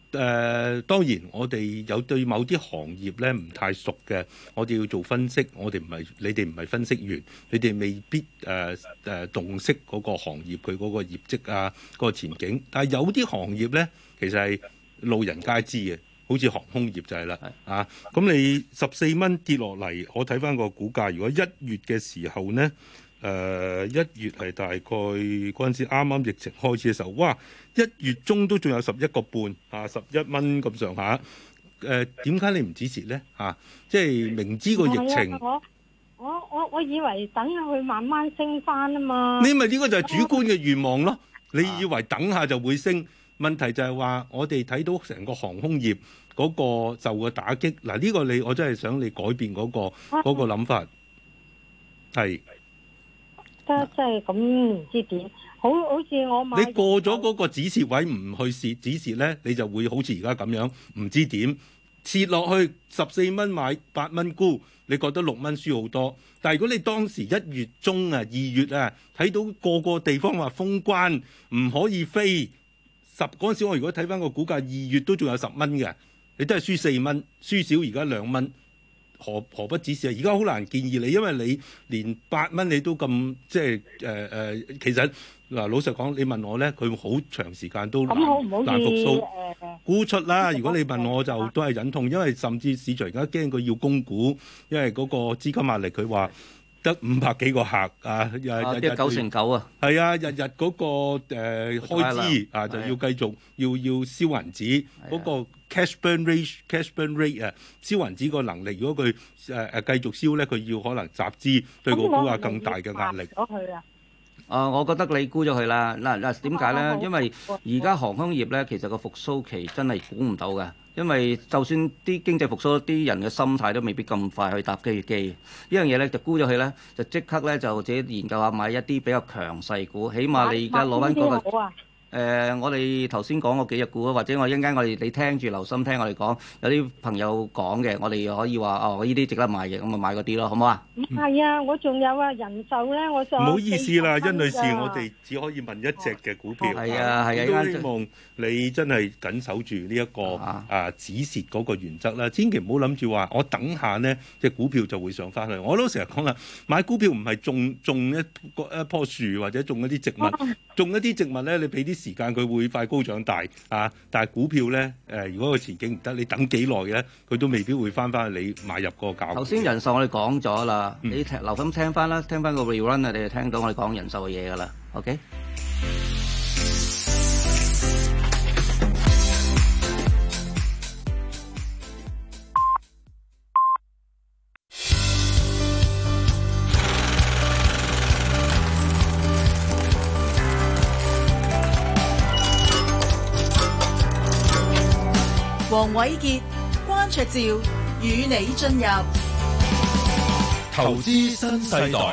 C: 誒、呃、當然，我哋有對某啲行業咧唔太熟嘅，我哋要做分析。我哋唔係你哋唔係分析員，你哋未必誒誒、呃、洞悉嗰個行業佢嗰個業績啊，嗰、嗰個前景。但係有啲行業咧，其實係路人皆知嘅，好似航空業就係啦。啊，咁你十四蚊跌落嚟，我睇翻個股價，如果一月嘅時候咧。誒、呃、一月係大概嗰陣時啱啱疫情開始嘅時候，哇！一月中都仲有十一個半啊，十一蚊咁上下。誒點解你唔止蝕咧？啊，即係明知個疫情，
J: 啊、我我我我以為等佢慢慢升翻啊嘛。
C: 你咪呢個就係主觀嘅願望咯。你以為等下就會升，問題就係話我哋睇到成個航空業嗰個受嘅打擊。嗱、啊、呢、呢個你我真係想你改變嗰、嗰個嗰、啊、個諗法，係。
J: 即即係咁唔知點，好好似我買
C: 你過咗嗰個止蝕位唔去蝕止蝕咧，你就會好似而家咁樣唔知點蝕落去十四蚊買八蚊沽，你覺得六蚊輸好多。但係如果你當時一月中啊、二月啊睇到個個地方話封關唔可以飛，十嗰陣時我如果睇翻個股價，二月都仲有十蚊嘅，你都係輸四蚊，輸少而家兩蚊。何何不止蝕啊？而家好難建議你，因為你連八蚊你都咁即係誒誒，其實嗱老實講，你問我咧，佢好長時間都難難復甦。沽出啦！如果你問我就都係忍痛，因為甚至市場而家驚佢要供股，因為嗰個資金壓力，佢話得五百幾個客啊，日日
D: 九成九啊，
C: 係啊，日日嗰個誒、呃、開支啊就要繼續要要燒銀紙嗰個。cash burn rate，cash burn rate 啊，燒銀紙個能力，如果佢誒誒繼續燒咧，佢要可能集資對個股價更大嘅壓力。
J: 咗佢啊！
D: 啊，我覺得你沽咗佢啦。嗱嗱點解咧？因為而家航空業咧，其實個復甦期真係估唔到嘅。因為就算啲經濟復甦，啲人嘅心態都未必咁快去搭機機。呢樣嘢咧就沽咗佢咧，就即刻咧就自己研究下買一啲比較強勢股，起碼你而家攞翻嗰個。誒、呃，我哋頭先講過幾隻股啊，或者我一陣間我哋你聽住留心聽我哋講，有啲朋友講嘅，我哋可以話哦，呢啲值得買嘅，咁咪買嗰啲咯，好唔好啊？
J: 唔係啊，我仲有啊，人壽咧，我就唔
C: 好意思啦，甄女士，我哋只可以問一隻嘅股票。
D: 係啊係啊，
C: 都希望你真係緊守住呢一個啊，啊止蝕嗰個原則啦，千祈唔好諗住話我等下呢隻股票就會上翻去。我都成日講啦，買股票唔係種種一個一棵樹或者種一啲植物，啊、種一啲植物咧，你俾啲時間佢會快高長大啊！但係股票咧，誒、呃，如果個前景唔得，你等幾耐嘅，佢都未必會翻翻去你買入個價。
D: 頭先人壽我哋講咗啦，嗯、你聽留心聽翻啦，聽翻個 rerun 啊，你就聽到我哋講人壽嘅嘢噶啦 ，OK？
A: 黃瑋傑、關焯照與你進入
E: 投資新世代。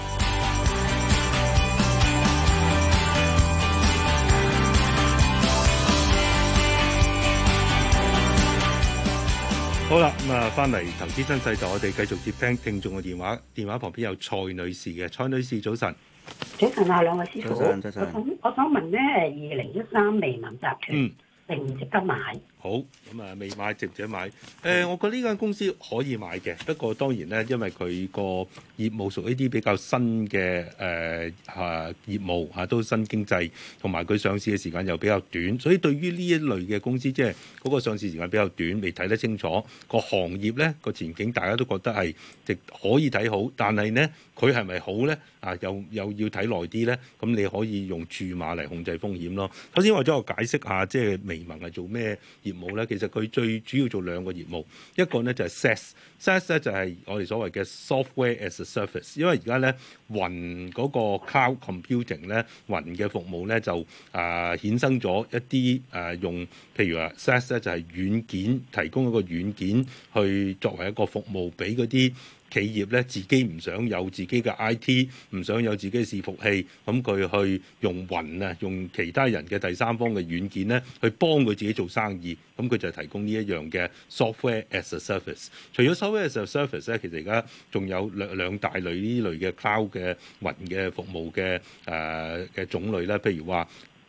C: 好啦，咁啊，翻嚟投資新世代，我哋繼續接聽聽眾嘅電話。電話旁邊有蔡女士嘅，蔡女士早晨。
K: 早晨啊，兩位師傅。
D: 早晨，早晨。
K: 我想我想問咧，二零一三微盟集團，
C: 嗯，
K: 值唔值得買？
C: 好，咁啊未買值唔值得買？誒、呃，我覺得呢間公司可以買嘅，不過當然咧，因為佢個業務屬於啲比較新嘅誒啊業務嚇、啊，都新經濟，同埋佢上市嘅時間又比較短，所以對於呢一類嘅公司，即係嗰個上市時間比較短，未睇得清楚個行業咧個前景，大家都覺得係值可以睇好，但係咧佢係咪好咧？啊，又又要睇耐啲咧，咁你可以用注碼嚟控制風險咯。首先，或者我解釋下，即係微盟係做咩業務咧？其實佢最主要做兩個業務，一個咧就係 SaaS，SaaS 咧就係我哋所謂嘅 software as a service。因為而家咧雲嗰個 cloud computing 咧雲嘅服務咧就啊衍生咗一啲誒用，譬如話 SaaS 咧就係軟件提供一個軟件去作為一個服務俾嗰啲企業咧自己唔想有自己嘅 I T， 唔想有自己嘅伺服器，咁佢去用雲啊，用其他人嘅第三方嘅軟件咧，去幫佢自己做生意。咁佢就提供呢一樣嘅 software as a service。除咗 software as a service 咧，其實而家仲有兩兩大類呢類嘅 cloud 嘅雲嘅服務嘅誒嘅種類咧，譬如話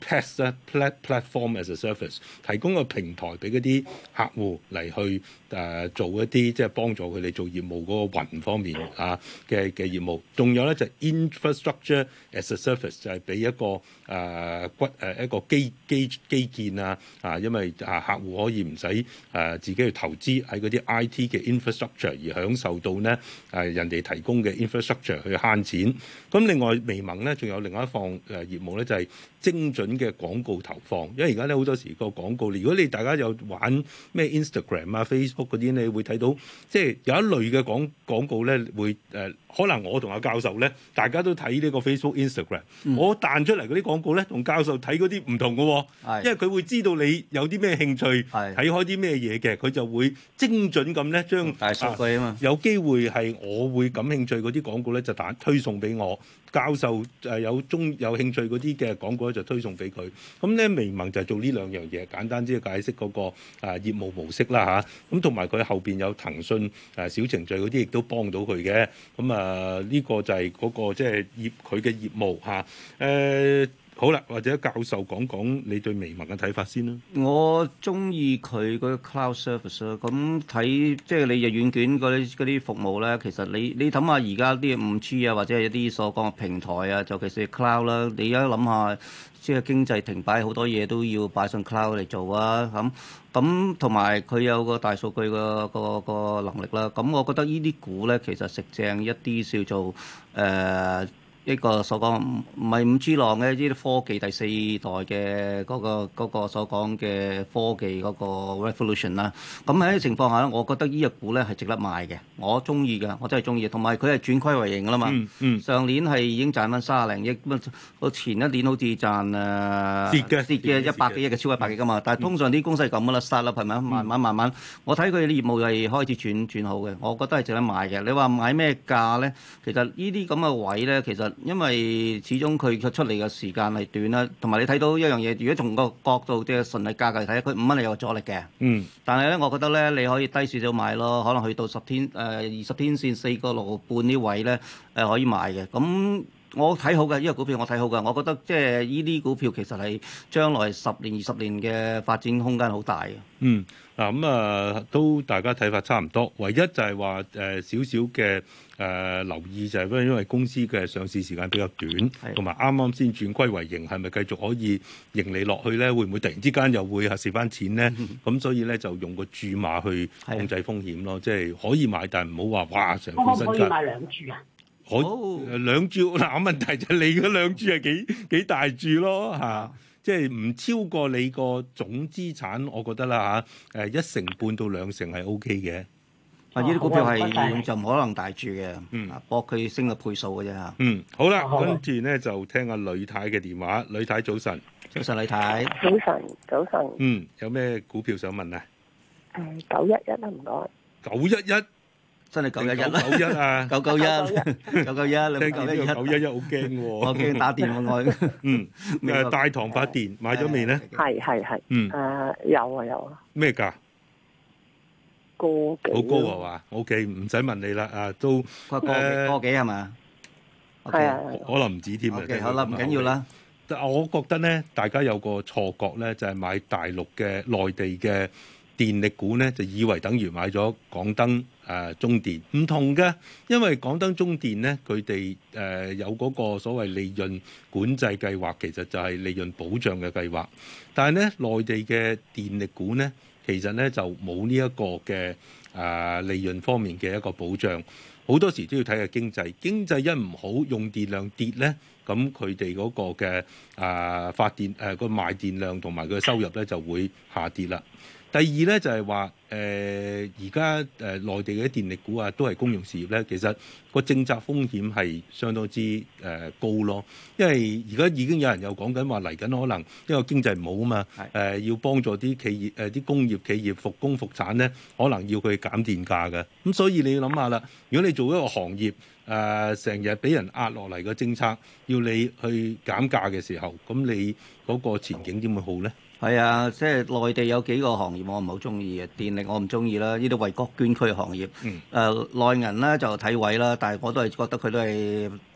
C: P A S 咧 platform as a service， 提供個平台俾嗰啲客戶嚟去誒、呃、做一啲即係幫助佢哋做業務嗰個雲方面啊嘅嘅業務。仲有咧就係 infrastructure as a service， 就係俾一個誒、呃、骨誒、呃、一個基基基建啊啊，因為啊客戶可以唔使誒自己去投資喺嗰啲 I T 嘅 infrastructure， 而享受到呢誒、呃、人哋提供嘅 infrastructure 去慳錢。咁另外微盟咧仲有另外一項誒業務咧就係、是、精準嘅廣告投放，因為而家咧好多時個廣告，如果你大家有玩咩 Instagram 啊、Facebook 嗰啲，你會睇到即係有一類嘅廣廣告咧，會誒、呃、可能我同阿教授咧，大家都睇呢個 Facebook、Instagram，、嗯、我彈出嚟嗰啲廣告咧，同教授睇嗰啲唔同嘅、哦，是因為佢會知道你有啲咩興趣，睇是開啲咩嘢嘅，佢就會精準咁咧將大數據啊嘛，有機會係我會感興趣嗰啲廣告咧，就彈推送俾我。教授誒有中有興趣嗰啲嘅廣告咧，就推送俾佢。咁咧微盟就係做呢兩樣嘢，簡單啲解釋嗰個誒業務模式啦嚇。咁同埋佢後邊有騰訊誒小程序嗰啲，亦都幫到佢嘅。咁啊呢個就係嗰個即係業佢嘅業務嚇。誒好啦，或者教授講講你對微盟嘅睇法先啦。
D: 我中意佢嗰個 cloud service 咯。咁睇即係你嘅軟件嗰啲嗰啲服務咧，其實你你諗下而家啲五 G 啊，或者係一啲所講嘅平台啊，尤其是 cloud 啦，你而家諗下，即係經濟停擺，好多嘢都要擺上 cloud 嚟做啊。咁咁同埋佢有個大數據個個個能力啦。咁我覺得呢啲股咧，其實食正一啲叫做誒。呃一個所講唔唔係五 G 浪嘅，呢啲科技第四代嘅嗰個嗰個所講嘅科技嗰個 revolution 啦。咁喺呢個情況下咧，我覺得呢隻股咧係值得買嘅，我中意嘅，我真係中意。同埋佢係轉虧為盈㗎啦嘛。嗯嗯、上年係已經賺翻三十零億，咁前一年好似賺誒
C: 跌嘅
D: 跌嘅一百幾億嘅超過一百億㗎嘛。但係通常啲公司係咁㗎啦，start up係咪？慢慢慢慢，我睇佢啲業務係開始轉轉好嘅，我覺得係值得買嘅。你話買咩價咧？其實呢啲咁嘅位咧，其實因為始終佢出嚟嘅時間係短啦，同埋你睇到一樣嘢，如果從個角度即係純利價格嚟睇，佢五蚊係有阻力嘅。嗯。但係咧，我覺得咧，你可以低少少買咯，可能去到十天誒二十天線四個六半呢位咧誒、呃、可以買嘅。咁我睇好嘅，呢個股票我睇好嘅，我覺得即係呢啲股票其實係將來十年二十年嘅發展空間好大嘅。
C: 嗯。嗱咁啊，都大家睇法差唔多，唯一就係話誒少少嘅誒留意就係因為因為公司嘅上市時間比較短，同埋啱啱先轉虧為盈，係咪繼續可以盈利落去咧？會唔會突然之間又會係蝕翻錢咧？咁、嗯、所以咧就用個注碼去控制風險咯，即係可以買，但係唔好話哇成副身家。
K: 可唔可以買兩注啊？
C: 可誒兩注嗱，問題就係你嗰兩注係幾幾大注咯嚇。啊即係唔超過你個總資產，我覺得啦嚇，誒一成半到兩成係 O K 嘅。
D: 啊，呢啲股票係就唔可能大注嘅，嗯，搏佢升嘅倍數嘅啫嚇。
C: 嗯，好啦，跟住咧就聽下呂太嘅電話。呂太早晨，
D: 早晨呂太，
L: 早晨早晨。
C: 嗯，有咩股票想問啊？
L: 誒九一一啦，唔該。
C: 九一一。
D: 真係九一一啦，
C: 九一啊，
D: 九九一，九九一，
C: 聽見呢個九一一好驚喎，
D: 我驚打電話我。
C: 嗯，誒大唐發電買咗未咧？
L: 係係係。嗯。誒有啊有啊。
C: 咩價？
L: 個幾？
C: 好高啊嘛 ？OK，唔使問你啦，啊都
D: 個個個幾係嘛？
L: 係啊。
C: 可能唔止添啊。
D: OK，好啦，唔緊要啦。
C: 但我覺得咧，大家有個錯覺咧，就係買大陸嘅內地嘅電力股咧，就以為等於買咗港燈誒、呃、中電，唔同嘅，因為港燈中電咧，佢哋誒有嗰個所謂利潤管制計劃，其實就係利潤保障嘅計劃。但係咧，內地嘅電力股咧，其實咧就冇呢一個嘅誒、呃、利潤方面嘅一個保障。好多時都要睇下經濟，經濟一唔好，用電量跌咧，咁佢哋嗰個嘅誒、呃、發電誒個、呃、賣電量同埋佢嘅收入咧就會下跌啦。第二咧就係話誒而家誒內地嘅電力股啊，都係公用事業咧，其實個政策風險係相當之誒、呃、高咯。因為而家已經有人又講緊話嚟緊可能因為經濟唔好啊嘛，誒、呃、要幫助啲企業誒啲、呃、工業企業復工復產咧，可能要佢減電價嘅。咁所以你要諗下啦，如果你做一個行業誒成日俾人壓落嚟嘅政策，要你去減價嘅時候，咁你嗰個前景點會好咧？
D: 係啊，即係內地有幾個行業我唔係好中意嘅，電力我唔中意啦，呢啲為國捐軀嘅行業。誒、嗯呃、內銀咧就睇位啦，但係我都係覺得佢都係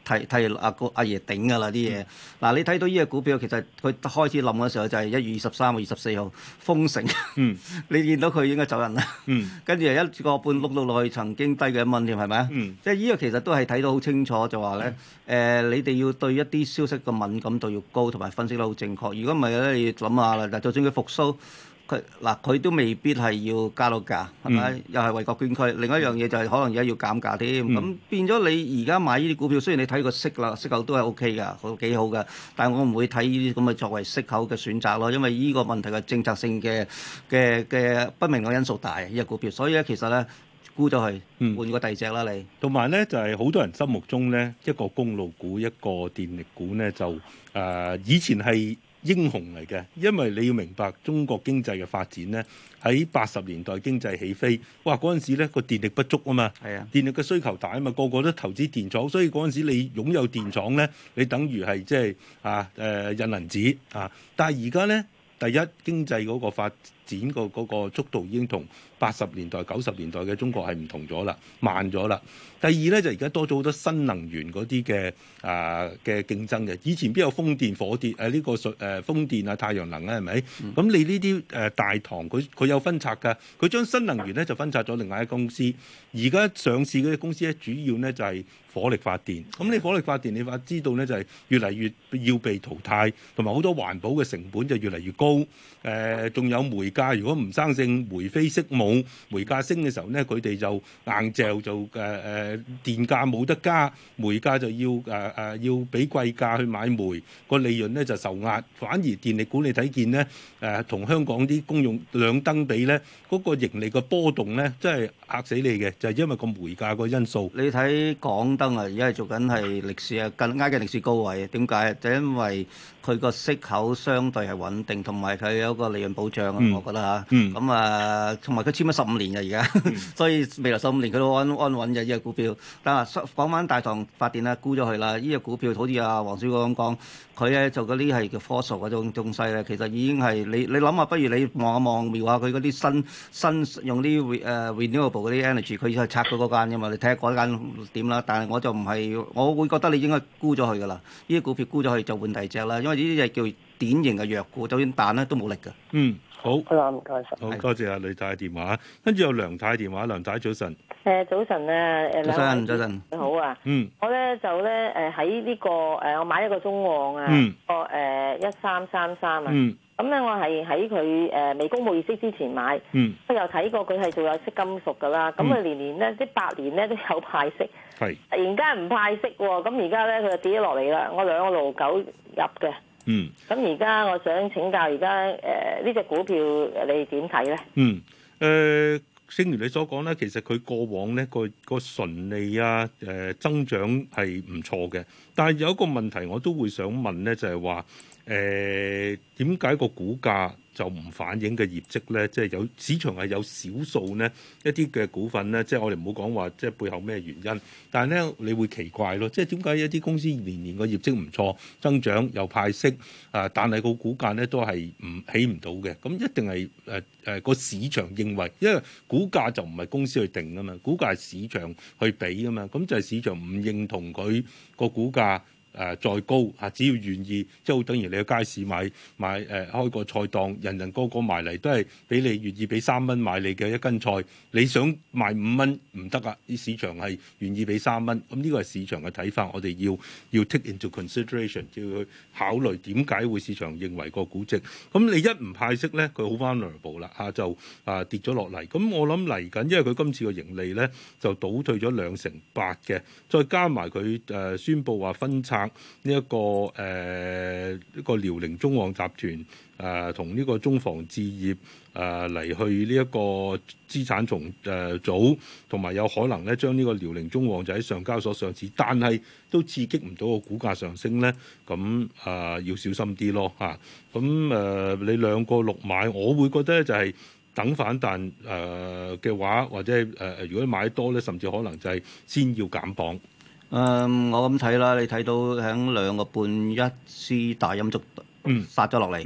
D: 替替阿個阿爺頂㗎啦啲嘢。嗱、嗯，你睇到呢隻股票其實佢開始冧嘅時候就係一月二十三號、二十四號封城，嗯、你見到佢應該走人啦。嗯、跟住又一個半碌到落去，曾經低過一蚊添，係咪啊？嗯、即係呢個其實都係睇到好清楚，就話咧誒，你哋要對一啲消息嘅敏感度要高，同埋分析得好正確。如果唔係咧，你諗下啦，就算佢復甦。佢嗱佢都未必係要加到價，係咪？嗯、又係為國捐軀。另一樣嘢就係可能而家要減價添。咁、嗯、變咗你而家買呢啲股票，雖然你睇個息啦，息口都係 O K 㗎，好幾好㗎。但係我唔會睇呢啲咁嘅作為息口嘅選擇咯，因為呢個問題嘅政策性嘅嘅嘅不明嘅因素大，呢、這、隻、個、股票。所以咧，其實咧沽咗佢，換個第二隻啦你。
C: 同埋咧，就係、是、好多人心目中咧，一個公路股，一個電力股咧，就誒、呃、以前係英雄嚟嘅，因為你要明白中國經濟嘅發展咧，喺八十年代經濟起飛，哇嗰陣時咧個電力不足啊嘛，係啊，電力嘅需求大啊嘛，個個都投資電廠，所以嗰陣時你擁有電廠咧，你等於係即係啊誒、呃、印銀紙啊，但係而家咧，第一經濟嗰個發展個嗰個速度已經同八十年代、九十年代嘅中國係唔同咗啦，慢咗啦。第二咧就而家多咗好多新能源嗰啲嘅啊嘅競爭嘅，以前邊有風電、火電誒呢、啊這個水誒、呃、風電啊、太陽能啊係咪？咁、嗯、你呢啲誒大堂佢佢有分拆㗎，佢將新能源咧就分拆咗另外一間公司。而家上市嗰啲公司咧，主要咧就係、是、火力發電。咁你火力發電，你話知道咧就係、是、越嚟越要被淘汰，同埋好多環保嘅成本就越嚟越高。誒、呃，仲有煤價，如果唔生性煤飛色舞，煤價升嘅時候咧，佢哋就硬嚼就誒誒、呃、電價冇得加，煤價就要誒誒、呃、要俾貴價去買煤，個利潤咧就受壓。反而電力股你睇見咧誒，同、呃、香港啲公用兩燈比咧，嗰、那個盈利嘅波動咧，真係嚇死你嘅，就係、是、因為個煤價個因素。
D: 你睇港燈啊，而家係做緊係歷史啊，更加嘅歷史高位。點解？就因為佢個息口相對係穩定，同埋佢有個利潤保障啊，嗯、我覺得嚇。咁、嗯、啊，同埋佢簽咗十五年嘅而家，嗯、所以未來十五年佢都安安穩嘅呢隻股票。但係講翻大唐發電啦，沽咗佢啦。呢隻股票好似阿黃小哥咁講，佢咧就嗰啲係叫科數嗰種東西咧，其實已經係你你諗下，不如你望一望瞄下佢嗰啲新新用啲誒 renewable 嗰啲 energy，佢係拆咗嗰間㗎嘛，你睇下嗰間點啦。但係我就唔係，我會覺得你應該沽咗佢㗎啦。呢啲股票沽咗佢就換第二隻啦，因為呢啲就叫典型嘅弱股，就算彈咧都冇力㗎。
C: 嗯，好。
L: 好啦，唔該晒。
C: 好，多謝阿呂太電話，跟住有梁太電話，梁太早晨。
M: 誒早晨啊，誒
D: 早晨早晨。
M: 你好啊。
C: 嗯。
M: 我咧就咧誒喺呢個誒，我買一個中旺啊，個誒一三三三啊。嗯。咁咧我係喺佢誒未公佈業績之前買。嗯。我又睇過佢係做有色金屬㗎啦，咁佢年年咧即八年咧都有派息。係。突然間唔派息喎，咁而家咧佢就跌咗落嚟啦。我兩個六九入嘅。嗯，咁而家我想請教，而家誒呢隻股票你點睇咧？
C: 嗯，誒、呃，正如你所講咧，其實佢過往咧個個純利啊，誒、呃、增長係唔錯嘅，但係有一個問題我都會想問咧，就係話誒點解個股價就唔反映嘅業績咧？即係有市場係有少數呢一啲嘅股份咧，即係我哋唔好講話即係背後咩原因，但係咧你會奇怪咯，即係點解一啲公司年年個業績唔錯，增長又派息啊，但係個股價咧都係唔起唔到嘅？咁一定係誒誒個市場認為，因為股價就唔係公司去定㗎嘛，股價係市場去俾㗎嘛，咁就係市場唔認同佢個股價。誒、呃、再高嚇，只要願意，即係好等於你去街市買買誒、呃、開個菜檔，人人個個埋嚟都係俾你願意俾三蚊買你嘅一斤菜，你想賣五蚊唔得啊！啲市場係願意俾三蚊，咁呢個係市場嘅睇法，我哋要要 take into consideration，要去考慮點解會市場認為個估值。咁你一唔派息咧，佢好 vulnerable 啦嚇，就啊跌咗落嚟。咁我諗嚟緊，因為佢今次個盈利咧就倒退咗兩成八嘅，再加埋佢誒宣布話分拆。呢一個誒一個遼寧中旺集團誒同呢個中房置業誒嚟去呢一個資產重誒組，同埋有可能咧將呢個遼寧中旺就喺上交所上市，但係都刺激唔到個股價上升咧，咁啊要小心啲咯嚇。咁誒你兩個六買，我會覺得就係等反彈誒嘅話，或者係誒如果買多咧，甚至可能就係先要減磅。
D: 誒、嗯，我咁睇啦，你睇到喺兩個半一支大陰燭殺咗落嚟，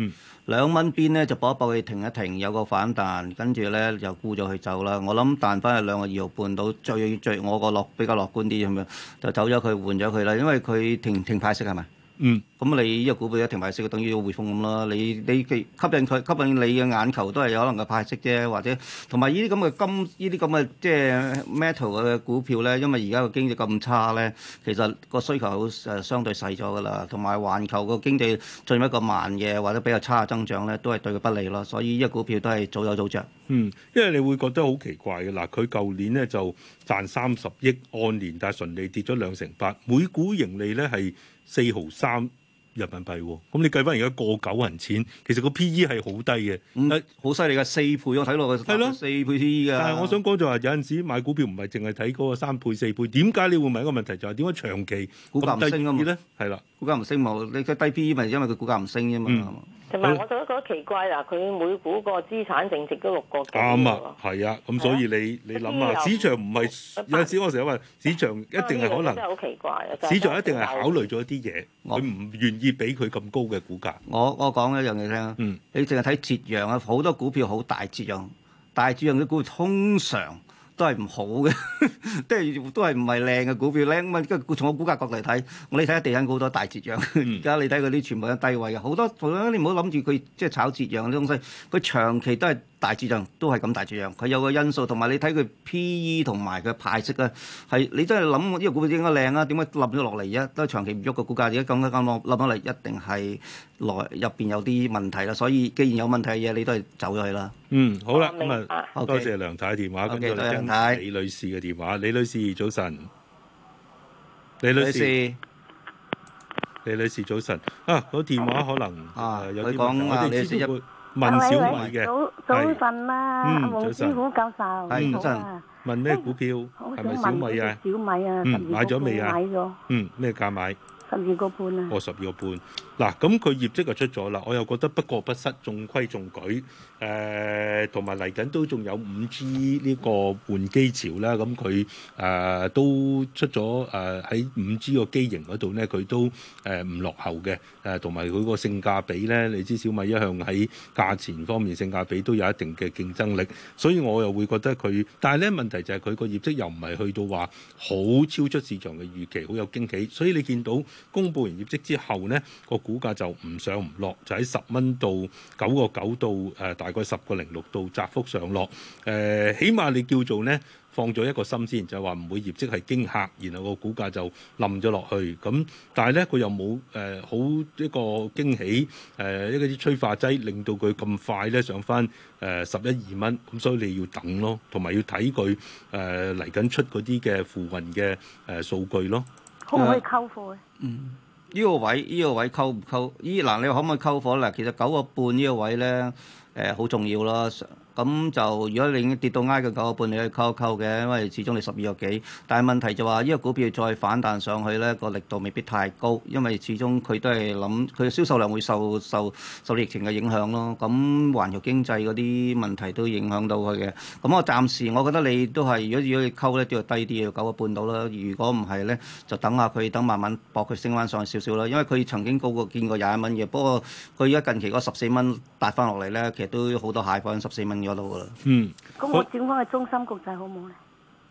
D: 兩蚊邊咧就搏一搏佢停一停，有個反彈，跟住咧就沽咗佢走啦。我諗彈翻去兩個二毫半到，最最我個樂比較樂觀啲咁樣，就走咗佢換咗佢啦，因為佢停停派息係咪？
C: 嗯，
D: 咁你呢個股票一停派息，等於匯豐咁啦。你你吸引佢吸引你嘅眼球都係有可能嘅派息啫，或者同埋呢啲咁嘅金呢啲咁嘅即係 metal 嘅股票咧，因為而家個經濟咁差咧，其實個需求好誒相對細咗噶啦，同埋環球個經濟進入一個慢嘅或者比較差嘅增長咧，都係對佢不利咯。所以呢個股票都係早有早着。
C: 嗯，因為你會覺得好奇怪嘅嗱，佢舊年咧就賺三十億按年，但係純利跌咗兩成八，每股盈利咧係四毫三人民幣喎，咁你計翻而家過九銀錢，其實個 P E 係好低嘅，
D: 嗯，好犀利嘅四倍，我睇落去係咯，四倍 P E 嘅。
C: 但係我想講就係有陣時買股票唔係淨係睇嗰個三倍四倍，點解你會問一個問題就係點解長期
D: 股價唔升啊嘛？
C: 咧係啦，
D: 股價唔升冇，你嘅低 P E 咪因為佢股價唔升啫嘛。
C: 嗯
M: 同埋我就覺得奇怪啦，佢每股個資產淨值都六個幾。
C: 啱啊，係啊，咁所以你你諗下，市場唔係有陣時我成日話市場一定係可能，
M: 真係好奇怪啊！
C: 市場一定係考慮咗啲嘢，佢唔願意俾佢咁高嘅股價。
D: 我我講一樣嘢聽，嗯，你淨係睇折讓啊，好多股票好大折讓，大折讓嘅股票通常都係唔好嘅，即係都係唔係靚嘅股票咧。咁啊，從我股價角度嚟睇，我你睇下地產股好多大折讓，而家你睇嗰啲全部都低位嘅，好多好多你唔好諗住佢即係炒折讓嘅東西，佢長期都係大折讓，都係咁大折讓。佢有個因素，同埋你睇佢 P E 同埋佢派息咧，係你真係諗呢個股票應該靚啊？點解冧咗落嚟而家都係長期唔喐個股價？而家咁咁冧冧落嚟，一定係內入邊有啲問題啦。所以既然有問題嘅嘢，你都係走咗去啦。
C: 嗯，好啦，咁啊，多謝梁太電話，跟住嚟聽李女士嘅電話。李女士早晨，李女士，李女士早晨。啊，個電話可能啊有啲問題，我哋先會問小米嘅。
N: 早早晨啦，阿黃師傅教授，
C: 係早晨。問咩股票？係咪小米啊？
N: 小米啊，
C: 嗯，買咗未啊？
N: 買咗。
C: 嗯，咩價買？
N: 十二個半啊！
C: 哦，十二個半。嗱，咁佢業績就出咗啦，我又覺得不過不失，中規中矩。誒，同埋嚟緊都仲有五 G 呢個換機潮啦。咁佢誒都出咗誒喺五 G 個機型嗰度咧，佢都誒唔落後嘅。誒，同埋佢個性價比咧，你知小米一向喺價錢方面性價比都有一定嘅競爭力，所以我又會覺得佢。但係咧問題就係佢個業績又唔係去到話好超出市場嘅預期，好有驚喜。所以你見到公佈完業績之後咧，個股價就唔上唔落，就喺十蚊到九個九到誒大概十個零六度窄幅上落。誒、呃，起碼你叫做咧放咗一個心先，就係話唔會業績係驚嚇，然後個股價就冧咗落去。咁但係咧佢又冇誒、呃、好一個驚喜，誒、呃、一啲催化劑令到佢咁快咧上翻誒十一二蚊。咁所以你要等咯，同埋要睇佢誒嚟緊出嗰啲嘅付運嘅誒數據咯。
N: 可唔可以溝貨咧？
D: 嗯。呢個位，呢個位溝唔溝？依嗱，你可唔可以溝貨咧？其實九個半呢個位咧，誒好重要咯。咁就如果你已經跌到挨個九個半，你可以溝一溝嘅，因為始終你十二個幾。但係問題就話，呢個股票再反彈上去咧，個力度未必太高，因為始終佢都係諗佢嘅銷售量會受受受疫情嘅影響咯。咁環球經濟嗰啲問題都影響到佢嘅。咁我暫時我覺得你都係，如果如果你溝咧，都要低啲，要九個半到啦。如果唔係咧，就等下佢，等慢慢搏佢升翻上去少少啦。因為佢曾經高過見過廿一蚊嘅，不過佢而家近期嗰十四蚊達翻落嚟咧，其實都好多蟹放十四蚊嗰度噶啦。
C: 嗯，
N: 咁我轉翻去中芯國際好唔好咧？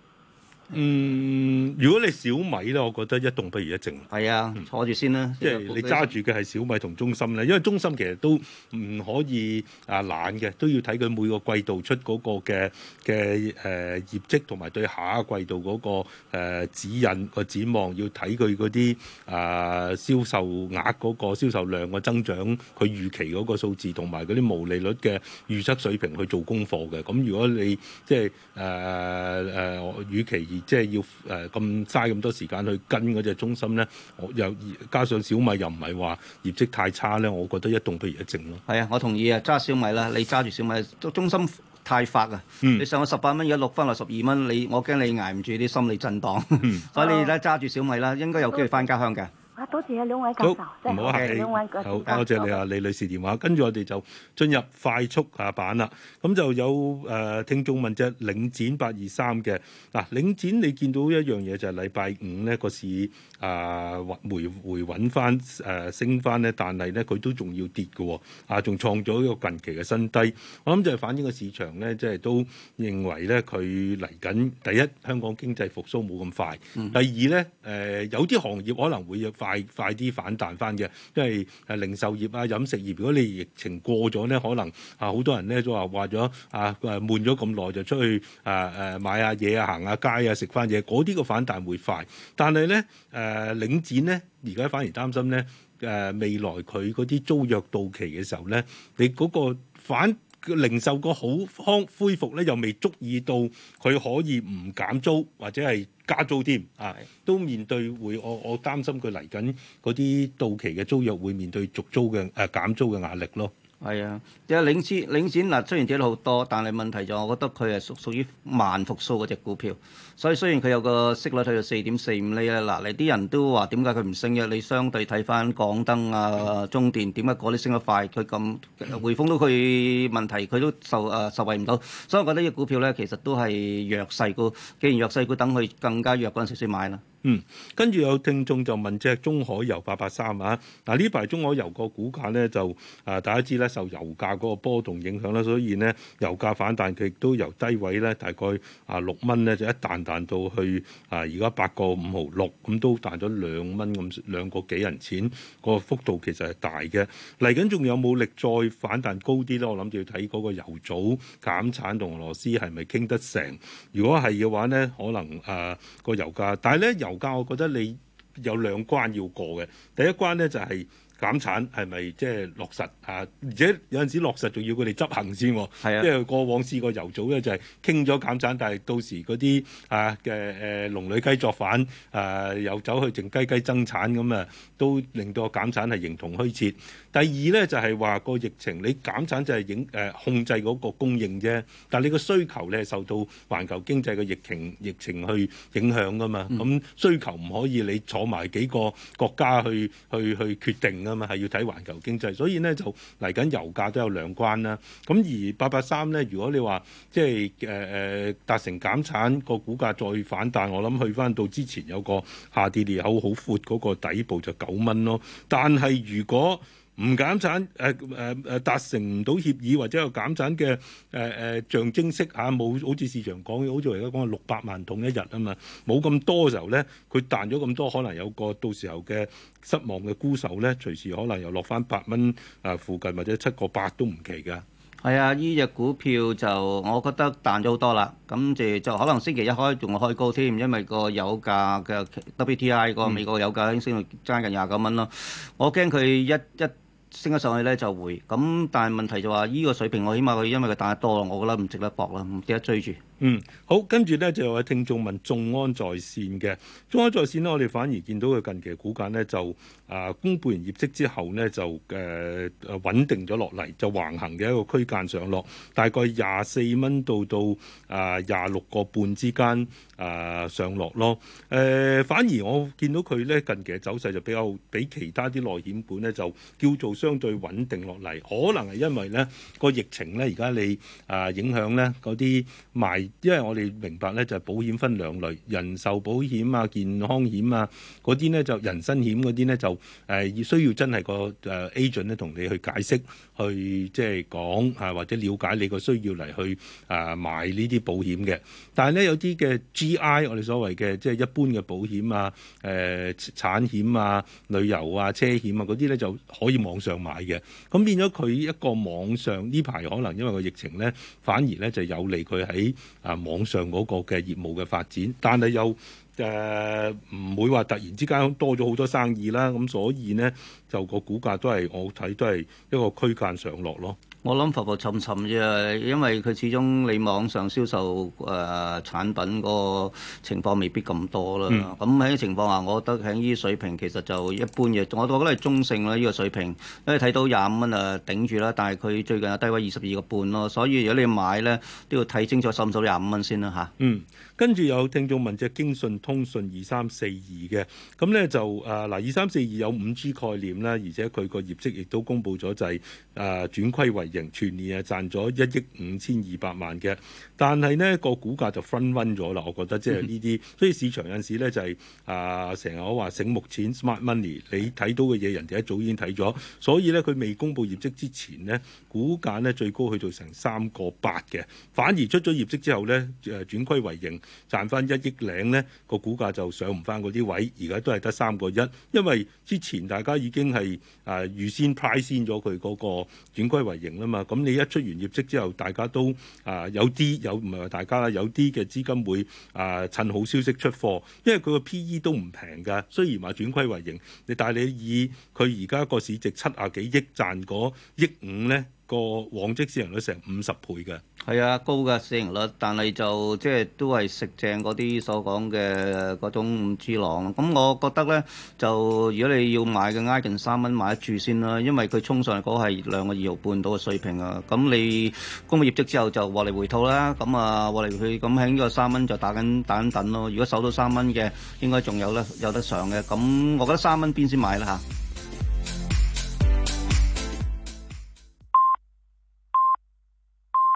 C: 嗯，如果你小米咧，我覺得一動不如一靜。
D: 係啊，坐住先啦。
C: 即係你揸住嘅係小米同中芯咧，因為中芯其實都唔可以啊懶嘅，都要睇佢每個季度出嗰個嘅嘅誒業績，同埋對下一個季度嗰、嗰個、呃、指引個展望，要睇佢嗰啲啊銷售額嗰個銷售量嘅增長，佢預期嗰個數字，同埋嗰啲毛利率嘅預測水平去做功課嘅。咁如果你即係誒誒預期，即係要誒咁嘥咁多時間去跟嗰隻中芯咧，我又加上小米又唔係話業績太差咧，我覺得一動不如一靜咯。
D: 係啊，我同意啊，揸小米啦，你揸住小米，中芯太發啊！嗯、你上咗十八蚊，而家落翻落十二蚊，你我驚你捱唔住啲心理震盪，嗯、所以你咧揸住小米啦，應該有機會翻家鄉嘅。
N: 啊，多謝啊兩位教授，
C: 唔好客氣，
N: 兩位
C: 好多謝你啊李女士電話。跟住我哋就進入快速下版啦。咁就有誒、呃、聽眾問隻領展八二三嘅嗱，領展你見到一樣嘢就係禮拜五咧個市啊回回穩翻誒升翻咧，但係咧佢都仲要跌嘅，啊仲創咗一個近期嘅新低。我諗就係反映個市場咧，即係都認為咧佢嚟緊第一香港經濟復甦冇咁快，嗯、第二咧誒、呃、有啲行業可能會有快快啲反彈翻嘅，因為誒零售業啊、飲食業，如果你疫情過咗咧，可能啊好多人咧都話話咗啊誒悶咗咁耐就出去誒誒、啊、買下嘢啊、行下街啊、食翻嘢，嗰啲個反彈會快。但係咧誒領展咧而家反而擔心咧誒、啊、未來佢嗰啲租約到期嘅時候咧，你嗰個反零售個好康恢復咧，又未足以到佢可以唔減租或者係加租添啊，都面對會我我擔心佢嚟緊嗰啲到期嘅租約會面對續租嘅誒、呃、減租嘅壓力咯。
D: 係啊，即係領展領展嗱，雖然跌咗好多，但係問題就我覺得佢係屬屬於慢復甦嗰隻股票，所以雖然佢有個息率去到四點四五厘咧，嗱你啲人都話點解佢唔升嘅？你相對睇翻港燈啊、中電，點解嗰啲升得快？佢咁匯豐都佢問題，佢都受誒、呃、受惠唔到，所以我覺得呢隻股票咧其實都係弱勢股。既然弱勢股，等佢更加弱嗰陣時先買啦。
C: 嗯，跟住有聽眾就問隻中海油八八三啊，嗱呢排中海油個股價咧就啊大家知咧受油價嗰個波動影響啦，所以呢油價反彈佢亦都由低位咧大概啊六蚊咧就一彈彈到去啊而家八個五毫六，咁都彈咗兩蚊咁兩個幾銀錢，個幅度其實係大嘅。嚟緊仲有冇力再反彈高啲咧？我諗住要睇嗰個油組減產同俄羅斯係咪傾得成？如果係嘅話咧，可能啊個油價，但係咧油油價我覺得你有兩關要過嘅，第一關咧就係、是、減產係咪即係落實啊？而且有陣時落實仲要佢哋執行先，係啊，因為過往試過油組咧就係傾咗減產，但係到時嗰啲啊嘅誒龍女雞作反啊，又走去靜雞雞增產咁啊，都令到個減產係形同虛設。第二咧就係話個疫情，你減產就係影誒控制嗰個供應啫，但係你個需求咧受到環球經濟嘅疫情疫情去影響噶嘛，咁、嗯、需求唔可以你坐埋幾個國家去去去決定啊嘛，係要睇環球經濟，所以咧就嚟緊油價都有兩關啦。咁而八八三咧，如果你話即係誒誒達成減產個股價再反彈，我諗去翻到之前有個下跌裂口好闊嗰個底部就九蚊咯。但係如果唔減產，誒誒誒達成唔到協議或者有減產嘅誒誒象徵式嚇，冇、啊、好似市場講嘅，好似而家講係六百萬桶一日啊嘛，冇咁多嘅時候咧，佢彈咗咁多，可能有個到時候嘅失望嘅沽售咧，隨時可能又落翻八蚊啊附近或者七個八都唔奇㗎。
D: 係啊，呢隻股票就我覺得彈咗好多啦，咁就就可能星期一開仲開高添，因為個油價嘅 W T I 個美國油價已經升到爭近廿九蚊咯，我驚佢一一升咗上去咧就會，咁但係問題就話依個水平，我起碼佢因為佢彈得多，我覺得唔值得搏啦，唔值得追住。
C: 嗯，好，跟住咧就有位聽眾問眾安在線嘅，眾安在線呢，我哋反而見到佢近期嘅股價呢，就啊公佈完業績之後呢，就誒誒、呃、穩定咗落嚟，就橫行嘅一個區間上落，大概廿四蚊到到啊廿六個半之間啊、呃、上落咯。誒、呃、反而我見到佢咧近期嘅走勢就比較比其他啲內險股呢，就叫做相對穩定落嚟，可能係因為呢個疫情呢，而家你啊、呃、影響呢嗰啲賣。因為我哋明白咧，就係保險分兩類，人壽保險啊、健康險啊嗰啲咧，就人身險嗰啲咧就誒要、呃、需要真係個誒 agent 咧同你去解釋，去即係講啊或者了解你個需要嚟去啊買呢啲保險嘅。但係咧有啲嘅 G I 我哋所謂嘅即係一般嘅保險啊、誒、呃、產險啊、旅遊啊、車險啊嗰啲咧就可以網上買嘅。咁變咗佢一個網上呢排可能因為個疫情咧，反而咧就有利佢喺啊網上嗰個嘅業務嘅發展，但係又誒唔會話突然之間多咗好多生意啦，咁所以呢，就個股價都係我睇都係一個區間上落咯。
D: 我諗浮浮沉沉啫，因為佢始終你網上銷售誒、呃、產品個情況未必咁多啦。咁喺、嗯、情況下，我覺得喺呢啲水平其實就一般嘅，我覺得係中性啦呢、呢個水平，因為睇到廿五蚊啊頂住啦，但係佢最近有低位二十二個半咯，所以如果你買咧都要睇清楚收唔收廿五蚊先啦嚇。
C: 嗯， 跟住有聽眾問隻京信通訊二三四二嘅，咁咧就誒嗱二三四二有五 G 概念啦，而且佢個業績亦都公布咗就係誒轉虧為盈，全年係賺咗一億五千二百萬嘅，但係呢個股價就 front run 咗啦，我覺得即係呢啲，所以市場有陣時咧就係啊成日我話醒目錢 smart money， 你睇到嘅嘢人哋一早已經睇咗，所以咧佢未公布業績之前呢，股價呢最高去到成三個八嘅，反而出咗業績之後咧誒轉虧為盈，賺翻一億零呢個股價就上唔翻嗰啲位，而家都係得三個一，因為之前大家已經係啊預先 price 先咗佢嗰個轉虧為盈啦嘛，咁你一出完業績之後，大家都啊有啲有唔係話大家啦，有啲嘅資金會啊趁好消息出貨，因為佢個 P E 都唔平㗎，雖然話轉虧為盈，你但係你以佢而家個市值七啊幾億賺嗰億五咧，個往績市盈率成五十倍嘅。
D: 係啊，高嘅市盈率，但係就即係都係食正嗰啲所講嘅嗰種五 G 浪。咁我覺得咧，就如果你要買嘅挨近三蚊買得住先啦，因為佢衝上嚟嗰係兩個二毫半到嘅水平啊。咁你公布業績之後就獲利回吐啦。咁啊獲利回吐咁喺呢個三蚊就打緊打緊等咯。如果守到三蚊嘅，應該仲有得有得上嘅。咁我覺得三蚊邊先買啦嚇。